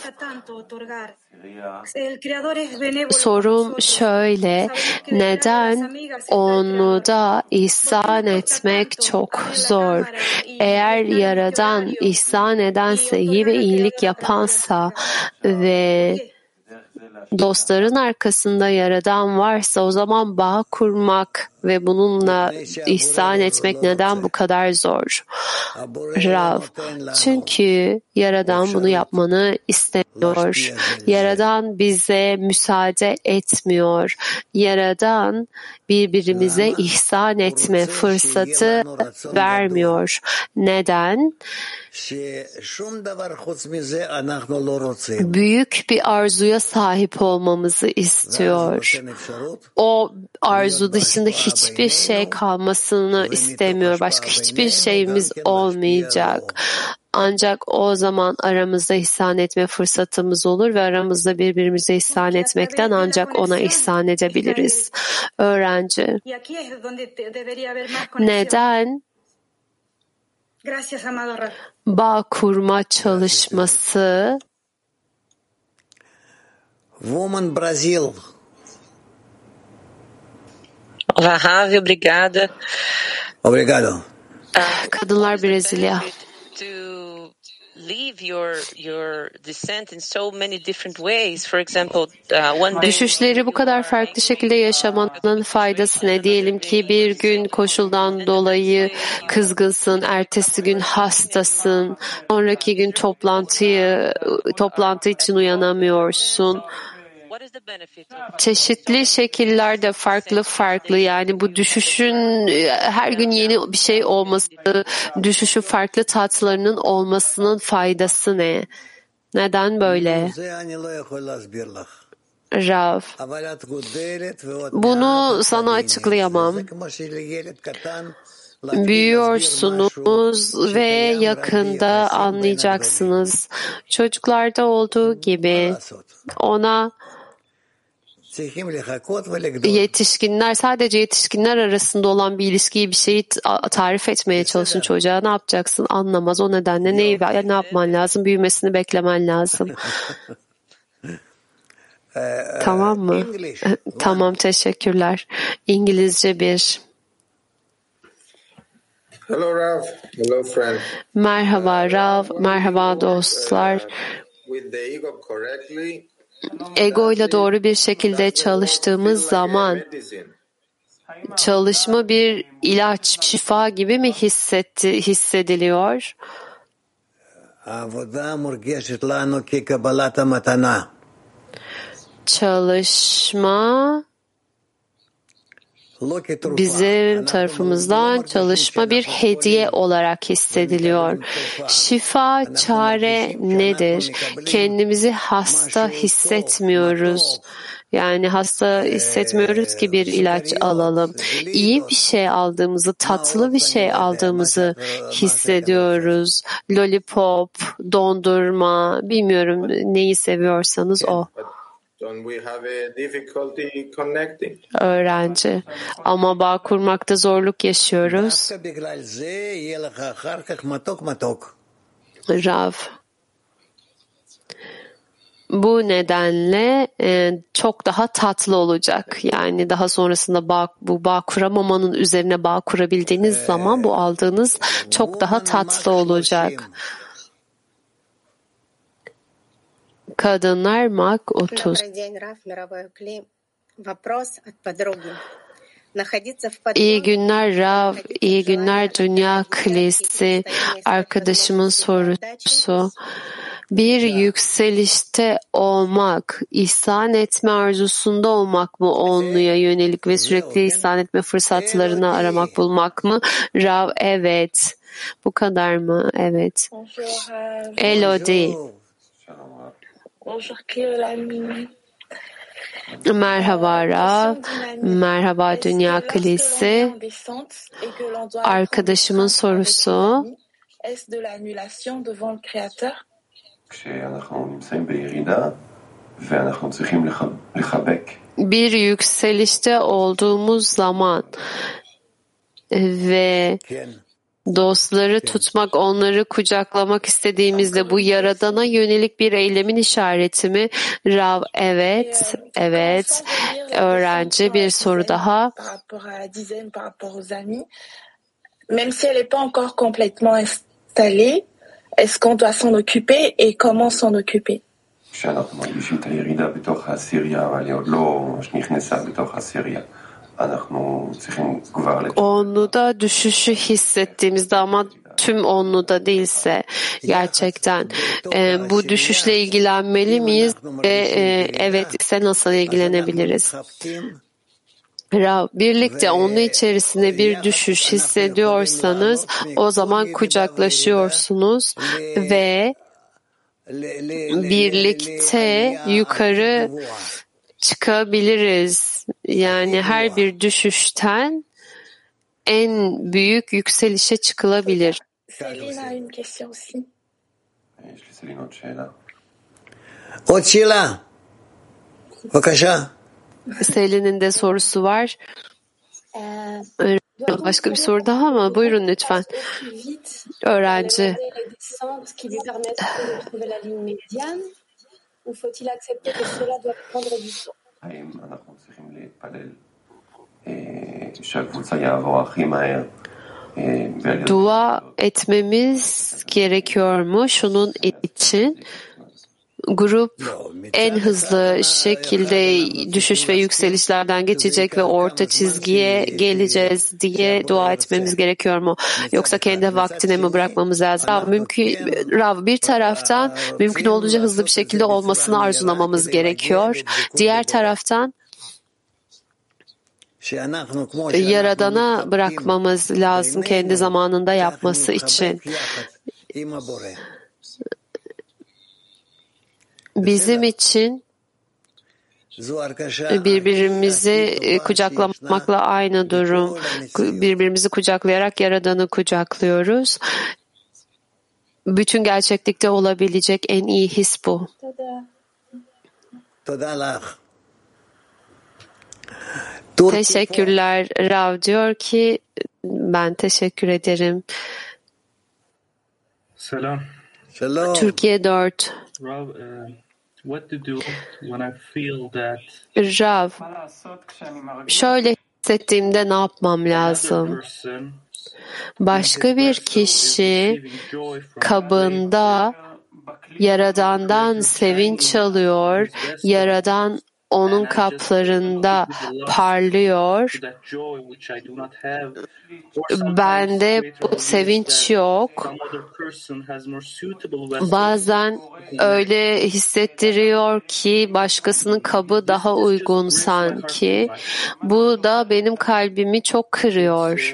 Sorum şöyle, neden onu da ihsan etmek çok zor? Eğer Yaradan ihsan edense, iyi ve iyilik yapansa ve dostların arkasında Yaradan varsa o zaman bağ kurmak ve bununla ihsan etmek neden bu kadar zor? Rav, çünkü Yaradan bunu yapmanı istemiyor. Yaradan bize müsaade etmiyor. Yaradan birbirimize ihsan etme fırsatı vermiyor. Neden? Büyük bir arzuya sahip olmamızı istiyor. O arzu dışında hiçbir şey kalmasını istemiyor. Başka hiçbir şeyimiz olmayacak. Ancak o zaman aramızda ihsan etme fırsatımız olur ve aramızda birbirimize ihsan etmekten ancak ona ihsan edebiliriz. Öğrenci. Neden? Bağ kurma çalışması Woman Brazil. Olá, Ravi, obrigada. Obrigado. Kadınlar Brezilya. Düşüşleri bu kadar farklı şekilde yaşamanın faydası ne? Diyelim ki bir gün koşuldan dolayı kızgınsın, ertesi gün hastasın, sonraki gün toplantı için uyanamıyorsun. Çeşitli şekillerde farklı yani bu düşüşün her gün yeni bir şey olması, düşüşün farklı tatlarının olmasının faydası ne? Neden böyle? Rav, bunu sana açıklayamam. Büyüyorsunuz ve yakında anlayacaksınız. Çocuklarda olduğu gibi ona sadece yetişkinler arasında olan bir ilişkiyi, bir şeyi tarif etmeye çalışın çocuğa. Ne yapacaksın? Anlamaz. O nedenle ne yapman lazım? Büyümesini beklemen lazım. Tamam mı? Tamam, teşekkürler. İngilizce 1. Hello Rav. Hello friend. Merhaba Rav. Merhaba dostlar. With the ego correctly, ego ile doğru bir şekilde çalıştığımız zaman çalışma bir ilaç, şifa gibi mi hissediliyor? Çalışma bizim tarafımızdan çalışma bir hediye olarak hissediliyor. Şifa, çare nedir? Kendimizi hasta hissetmiyoruz. Yani hasta hissetmiyoruz ki bir ilaç alalım. İyi bir şey aldığımızı, tatlı bir şey aldığımızı hissediyoruz. Lollipop, dondurma, bilmiyorum neyi seviyorsanız o. Öğrenci. Ama bağ kurmakta zorluk yaşıyoruz. Rav. Bu nedenle çok daha tatlı olacak. Yani daha sonrasında bu bağ kuramamanın üzerine bağ kurabildiğiniz zaman bu aldığınız çok daha tatlı olacak. Kadınlar Mak 30. İyi günler Rav, iyi günler Dünya Kilisi. Arkadaşımın sorusu. Bir yükselişte olmak, ihsan etme arzusunda olmak mı onluya yönelik ve sürekli ihsan etme fırsatlarını aramak, bulmak mı? Rav, evet. Bu kadar mı? Evet. Elodie. Merhaba Rav, merhaba Dünya Kilisi. Arkadaşımın sorusu. Bir yükselişte olduğumuz zaman ve dostları tutmak, onları kucaklamak istediğimizde bu Yaradan'a yönelik bir eylemin işareti mi? Rav, evet, evet. Öğrenci, bir soru daha. Même si elle n'est pas encore complètement installée, est-ce qu'on doit s'en occuper et comment s'en occuper? כשאנחנו מרגישים את הירידה בתוך העשירייה, אבל היא עוד לא נכנסה בתוך העשירייה. Onluda düşüşü hissettiğimizde ama tüm onluda değilse gerçekten bu düşüşle ilgilenmeli miyiz ve evet ise nasıl ilgilenebiliriz? Rav, birlikte onun içerisinde bir düşüş hissediyorsanız o zaman kucaklaşıyorsunuz ve birlikte yukarı çıkabiliriz. Yani her bir düşüşten en büyük yükselişe çıkılabilir. Selin'in de sorusu var. Başka bir soru daha ama buyurun lütfen. Öğrenci. Dua etmemiz gerekiyor mu şunun için? Grup en hızlı şekilde düşüş ve yükselişlerden geçecek ve orta çizgiye geleceğiz diye dua etmemiz gerekiyor mu? Yoksa kendi vaktine mi bırakmamız lazım? Rav, bir taraftan mümkün olduğunca hızlı bir şekilde olmasını arzulamamız gerekiyor. Diğer taraftan Yaradan'a bırakmamız lazım kendi zamanında yapması için. Bizim için birbirimizi kucaklamakla aynı durum. Birbirimizi kucaklayarak Yaradan'ı kucaklıyoruz. Bütün gerçeklikte olabilecek en iyi his bu. Teşekkürler. Rav diyor ki ben teşekkür ederim. Selam. Türkiye 4. Rav, what to do when I feel that? Rav, şöyle hissettiğimde ne yapmam lazım? Başka bir kişi kabında Yaradan'dan sevinç alıyor, Yaradan onun kaplarında parlıyor. Bende bu sevinç yok. Bazen öyle hissettiriyor ki başkasının kabı daha uygun sanki. Bu da benim kalbimi çok kırıyor.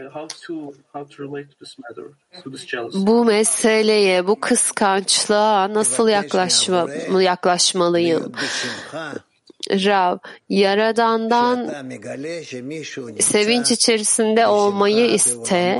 Bu meseleye, bu kıskançlığa nasıl yaklaşmalıyım? Rav, Yaradan'dan sevinç içerisinde olmayı iste.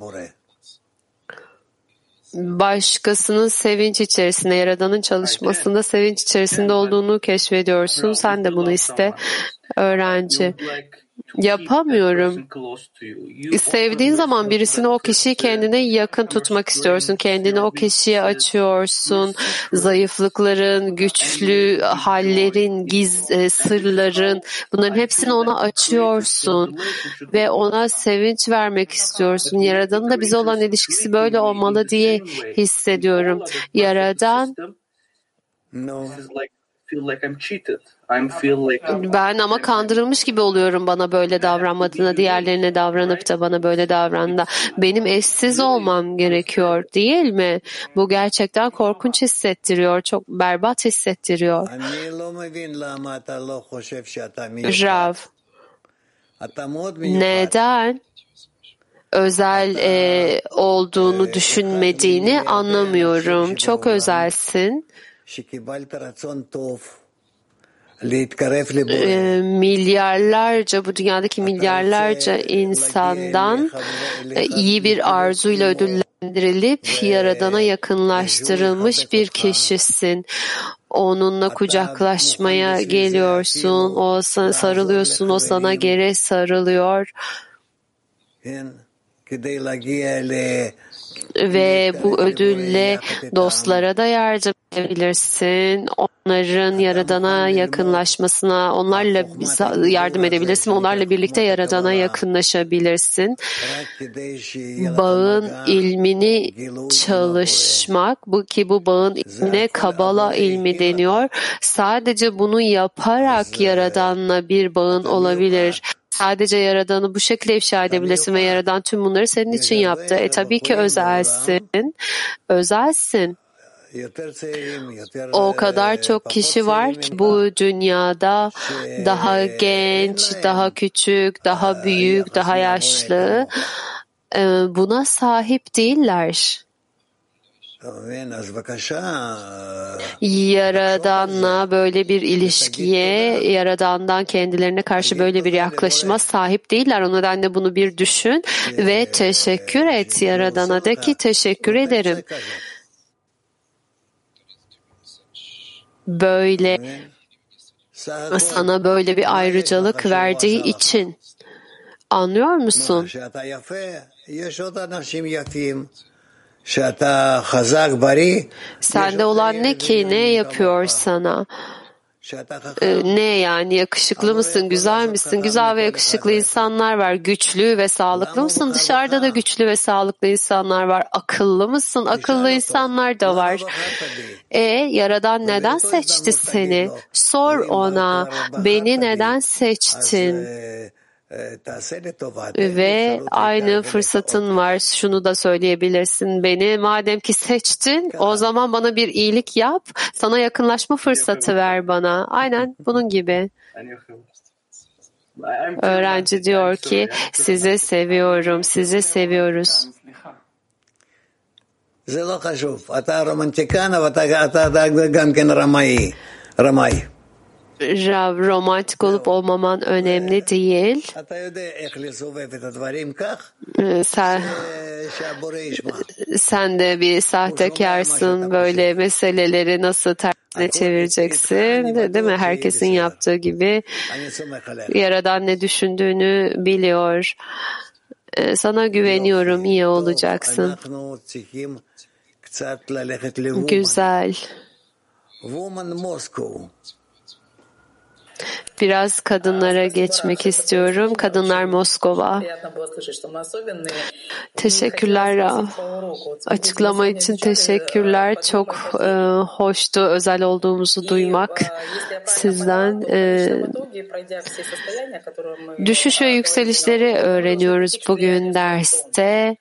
Başkasının sevinç içerisinde, Yaradan'ın çalışmasında sevinç içerisinde olduğunu keşfediyorsun. Sen de bunu iste. Öğrenci. Yapamıyorum. Sevdiğin zaman birisini, o kişiyi kendine yakın tutmak istiyorsun. Kendini o kişiye açıyorsun. Zayıflıkların, güçlü hallerin, sırların, bunların hepsini ona açıyorsun. Ve ona sevinç vermek istiyorsun. Yaradan'ın da bize olan ilişkisi böyle olmalı diye hissediyorum. Yaradan ben ama kandırılmış gibi oluyorum bana böyle davranmadığına, diğerlerine davranıp da bana böyle davrandı. Benim eşsiz olmam gerekiyor değil mi? Bu gerçekten korkunç hissettiriyor, çok berbat hissettiriyor. Rav, neden özel olduğunu düşünmediğini anlamıyorum. Çok özelsin. Milyarlarca, bu dünyadaki milyarlarca insandan iyi bir arzuyla ödüllendirilip Yaradan'a yakınlaştırılmış bir kişisin. Onunla kucaklaşmaya geliyorsun, o sana sarılıyorsun, o sana geri sarılıyor. Ve bu ödülle dostlara da yardım edebilirsin. Onların Yaradan'a yakınlaşmasına, onlarla yardım edebilirsin. Onlarla birlikte Yaradan'a yakınlaşabilirsin. Bağın ilmini çalışmak, bu bağın ilmine Kabala ilmi deniyor. Sadece bunu yaparak Yaradan'la bir bağın olabilir. Sadece Yaradan'ı bu şekilde ifşa edebilirsin ve Yaradan tüm bunları senin için yaptı. Tabii ki özelsin. Özelsin. O kadar çok kişi var ki bu dünyada daha genç, daha küçük, daha büyük, daha yaşlı. Buna sahip değiller. Yaradan'la böyle bir ilişkiye, Yaradan'dan kendilerine karşı böyle bir yaklaşıma sahip değiller. O nedenle bunu bir düşün ve teşekkür et Yaradan'a. De ki teşekkür ederim. Böyle sana böyle bir ayrıcalık verdiği için. Anlıyor musun? Sende olan ne ki? Ne yapıyor sana? Ne yani? Yakışıklı mısın? Güzel misin? Güzel ve yakışıklı insanlar var. Güçlü ve sağlıklı mısın? Dışarıda da güçlü ve sağlıklı insanlar var. Akıllı mısın? Akıllı insanlar da var. Yaradan neden seçti seni? Sor ona. Beni neden seçtin? Ve aynı fırsatın var. Şunu da söyleyebilirsin. Beni madem ki seçtin, o zaman bana bir iyilik yap. Sana yakınlaşma fırsatı ver bana. Aynen bunun gibi. Öğrenci diyor ki sizi seviyorum, sizi seviyoruz. Rav, romantik olup olmaman önemli değil. Sen de bir sahtekarsın. Böyle meseleleri nasıl tersine çevireceksin? Değil mi? Herkesin yaptığı gibi. Yaradan ne düşündüğünü biliyor. Sana güveniyorum. İyi olacaksın. Güzel. Biraz kadınlara geçmek istiyorum. Kadınlar Moskova. Teşekkürler Rav. Açıklama için teşekkürler. Çok hoştu özel olduğumuzu duymak sizden. Düşüş ve yükselişleri öğreniyoruz bugün derste.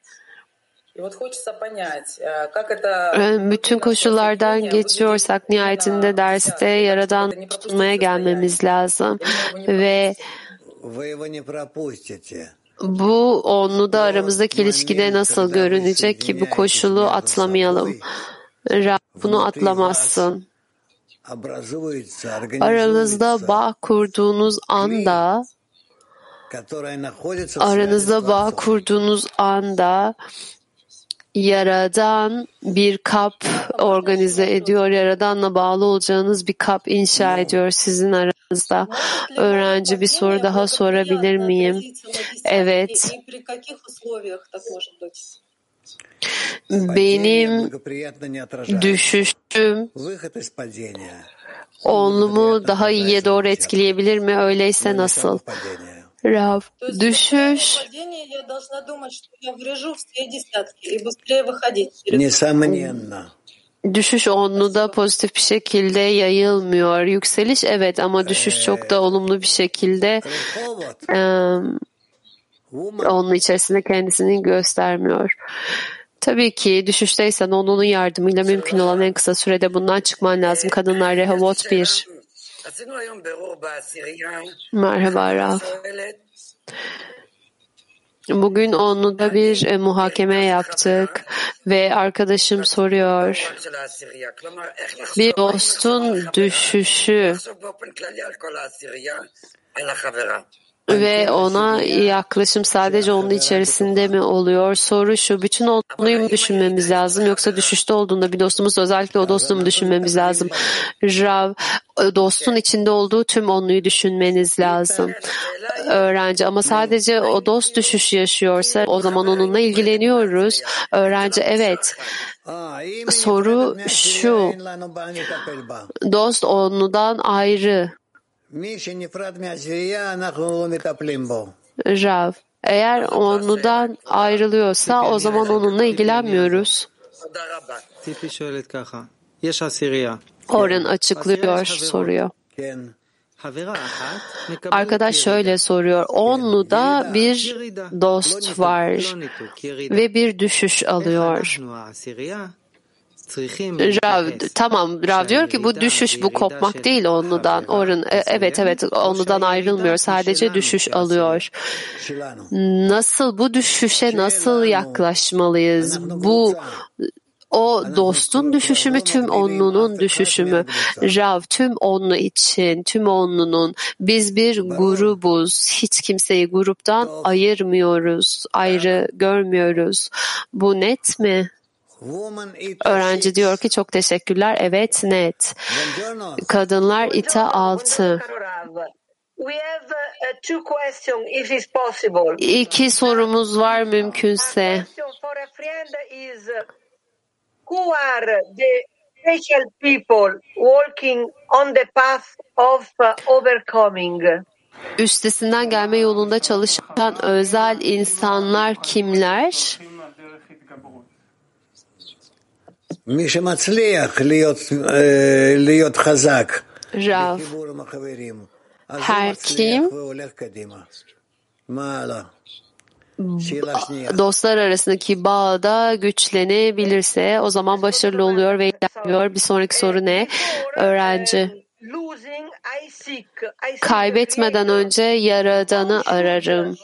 Bütün koşullardan geçiyorsak nihayetinde derste Yaradan tutmaya gelmemiz lazım ve bu onlu da aramızdaki ilişkide nasıl görünecek ki bu koşulu atlamayalım. Rab bunu atlamazsın. Aranızda bağ kurduğunuz anda Yaradan bir kap organize ediyor. Yaradan'la bağlı olacağınız bir kap inşa ediyor sizin aranızda. Öğrenci bir soru daha sorabilir miyim? Evet. Benim düşüşüm onlumu daha iyiye doğru etkileyebilir mi? Öyleyse nasıl? Rav, düşüş onlu da pozitif bir şekilde yayılmıyor. Yükseliş evet ama düşüş çok da olumlu bir şekilde onun içerisinde kendisini göstermiyor. Tabii ki düşüşteysen onun yardımıyla mümkün olan en kısa sürede bundan çıkman lazım. Kadınlar Rehovot 1. Merhaba Rav. Bugün onluda bir muhakeme yaptık ve arkadaşım soruyor. Bir dostun düşüşü ve ona yaklaşım sadece onun içerisinde mi oluyor? Soru şu, bütün onluyu mu düşünmemiz lazım yoksa düşüşte olduğunda bir dostumuz özellikle o dostu mu düşünmemiz lazım? Rav, dostun içinde olduğu tüm onluyu düşünmeniz lazım. Öğrenci ama sadece o dost düşüş yaşıyorsa o zaman onunla ilgileniyoruz. Öğrenci evet. Soru şu, dost onludan ayrı. Rav, eğer onludan ayrılıyorsa o zaman onunla ilgilenmiyoruz. Orhan açıklıyor, soruyor. Arkadaş şöyle soruyor. Onluda bir dost var ve bir düşüş alıyor. Rav, tamam, Rav diyor ki bu düşüş, bu kopmak değil onludan. Orhan, evet onludan ayrılmıyor, sadece düşüş alıyor. Nasıl bu düşüşe nasıl yaklaşmalıyız? Bu o dostun düşüşü mü, tüm onlunun düşüşü mü? Rav, tüm onlu için, tüm onlunun. Biz bir grubuz. Hiç kimseyi gruptan ayırmıyoruz, ayrı görmüyoruz. Bu net mi? Öğrenci diyor ki çok teşekkürler. Evet, net. Kadınlar İTA 6. İki sorumuz var mümkünse. Who are the special people walking on the path of overcoming? Üstesinden gelme yolunda çalışan özel insanlar kimler? Rav, her kim dostlar arasındaki bağda güçlenebilirse o zaman başarılı oluyor ve ilerliyor. Bir sonraki soru ne? Öğrenci. Kaybetmeden önce Yaradan'ı ararım.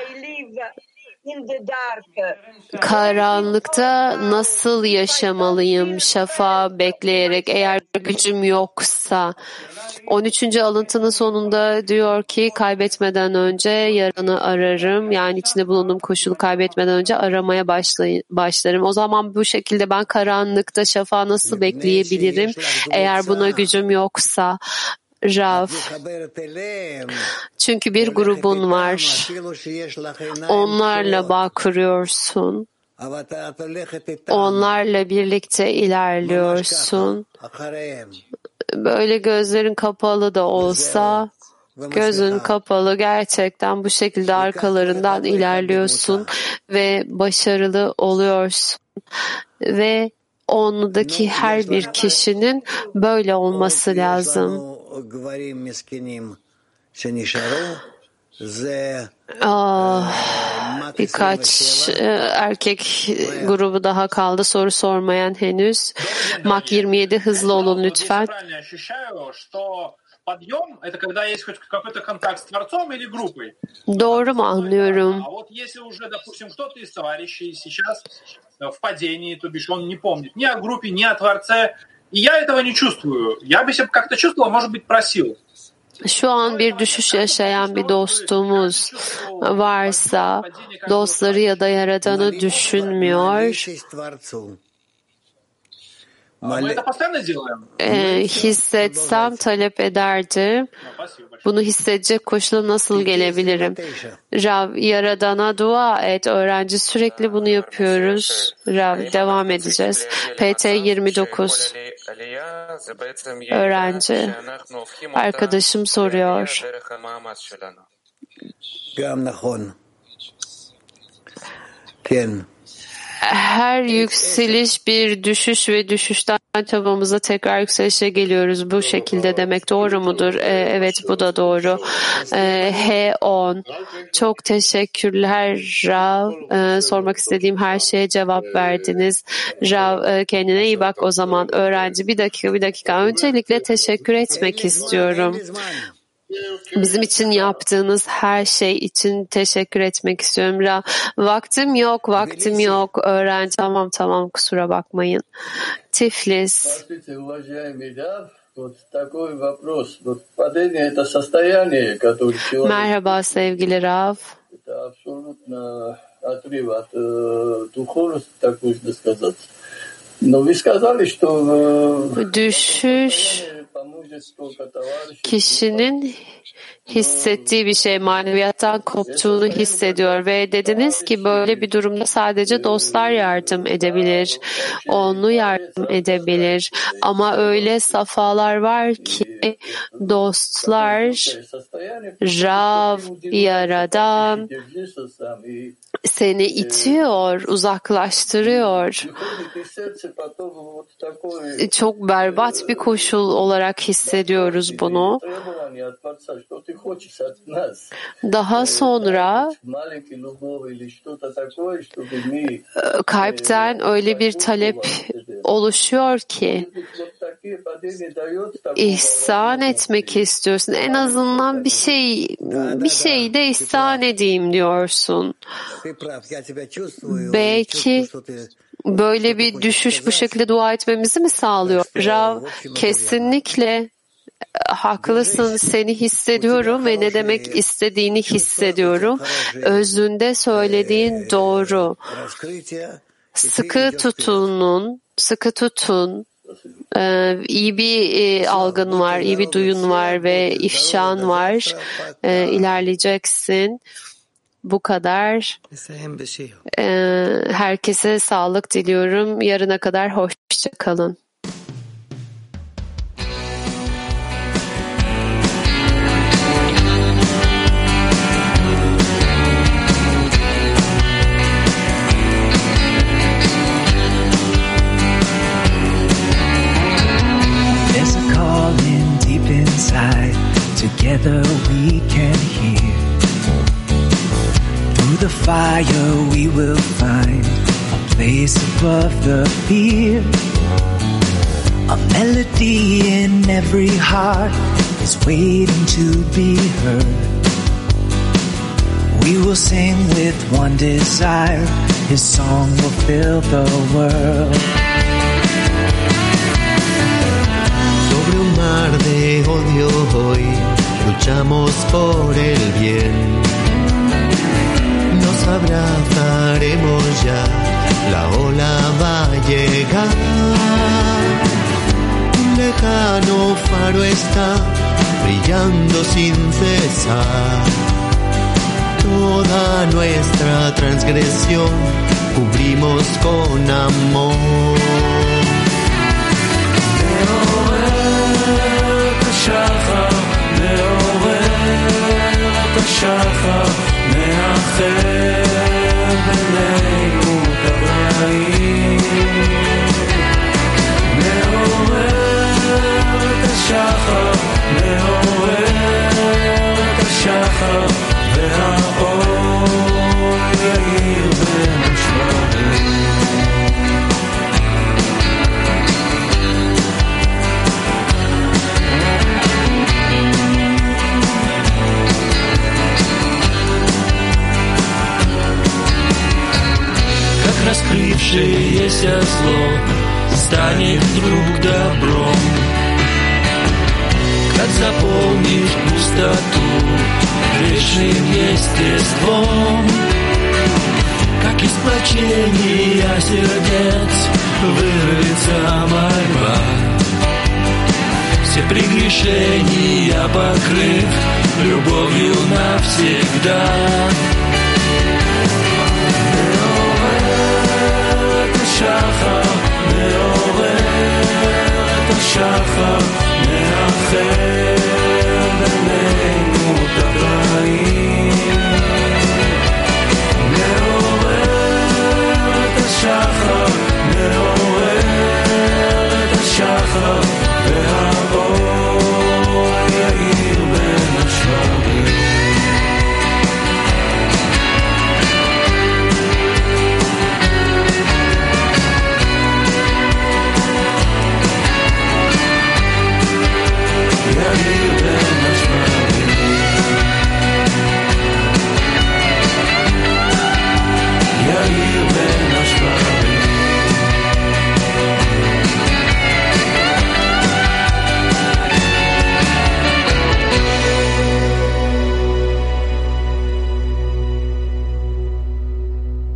Karanlıkta nasıl yaşamalıyım? Şafağı bekleyerek, eğer gücüm yoksa. 13. alıntının sonunda diyor ki kaybetmeden önce Yaradan'ı ararım. Yani içinde bulunduğum koşulu kaybetmeden önce aramaya başlarım. O zaman bu şekilde ben karanlıkta şafağı nasıl bekleyebilirim? Eğer buna gücüm yoksa. Rav, çünkü bir grubun var. Onlarla bağ kuruyorsun. Onlarla birlikte ilerliyorsun. Böyle gözlerin kapalı da olsa Gözün kapalı, gerçekten bu şekilde arkalarından ilerliyorsun ve başarılı oluyorsun. Ve onludaki her bir kişinin böyle olması lazım. Birkaç erkek grubu daha kaldı soru sormayan henüz. Mak 27 hızlı olun lütfen. Doğru mu anlıyorum? Şu an bir düşüş yaşayan bir dostumuz varsa dostları ya da Yaradan'ı düşünmüyor. Hissetsem talep ederdim. Bunu hissedecek koşula nasıl gelebilirim? Rav, Yaradan'a dua et. Öğrenci sürekli bunu yapıyoruz. Rav, devam edeceğiz. PT 29. Öğrenci. Arkadaşım soruyor. Her yükseliş bir düşüş ve düşüşten çabamıza tekrar yükselişe geliyoruz. Bu şekilde demek doğru mudur? Evet, bu da doğru. H10. Çok teşekkürler Rav. Sormak istediğim her şeye cevap verdiniz. Rav, kendine iyi bak o zaman. Öğrenci, bir dakika. Öncelikle teşekkür etmek istiyorum. Bizim için yaptığınız her şey için teşekkür etmek istiyorum. Vaktim yok. Öğrenci, tamam, kusura bakmayın. Tiflis. Merhaba sevgili Rav. Düşüş kişinin hissettiği bir şey, maneviyattan koptuğunu hissediyor ve dediniz ki böyle bir durumda sadece dostlar yardım edebilir, onlu yardım edebilir. Ama öyle safhalar var ki dostlar, Rav, Yaradan seni itiyor, uzaklaştırıyor. Çok berbat bir koşul olarak hissediyoruz bunu. Daha sonra kalpten öyle bir talep oluşuyor ki ihsan etmek istiyorsun. En azından bir şey de ihsan edeyim diyorsun. Belki böyle bir düşüş bu şekilde dua etmemizi mi sağlıyor? Rav, kesinlikle haklısın, seni hissediyorum ve ne demek istediğini hissediyorum. Özünde söylediğin doğru. Sıkı tutun. İyi bir algın var, iyi bir duyun var ve ifşan var. İlerleyeceksin. Bu kadar. Herkese sağlık diliyorum. Yarına kadar hoşça kalın. There's a calling deep inside. Together we can hear. Through the fire we will find a place above the fear. A melody in every heart is waiting to be heard. We will sing with one desire, His song will fill the world. Sobre un mar de odio hoy luchamos por el bien. Nos abrazaremos ya, la ola va a llegar. Un lejano faro está brillando sin cesar. Toda nuestra transgresión cubrimos con amor. השחר והאור יאיר בין השמרים. Раскрывшееся зло станет вдруг добром, как заполнишь пустоту грешным естеством, как из сплочения сердец вырвется мольба, все прегрешения покрыв любовью навсегда. שחר מעורר את השחר מאחר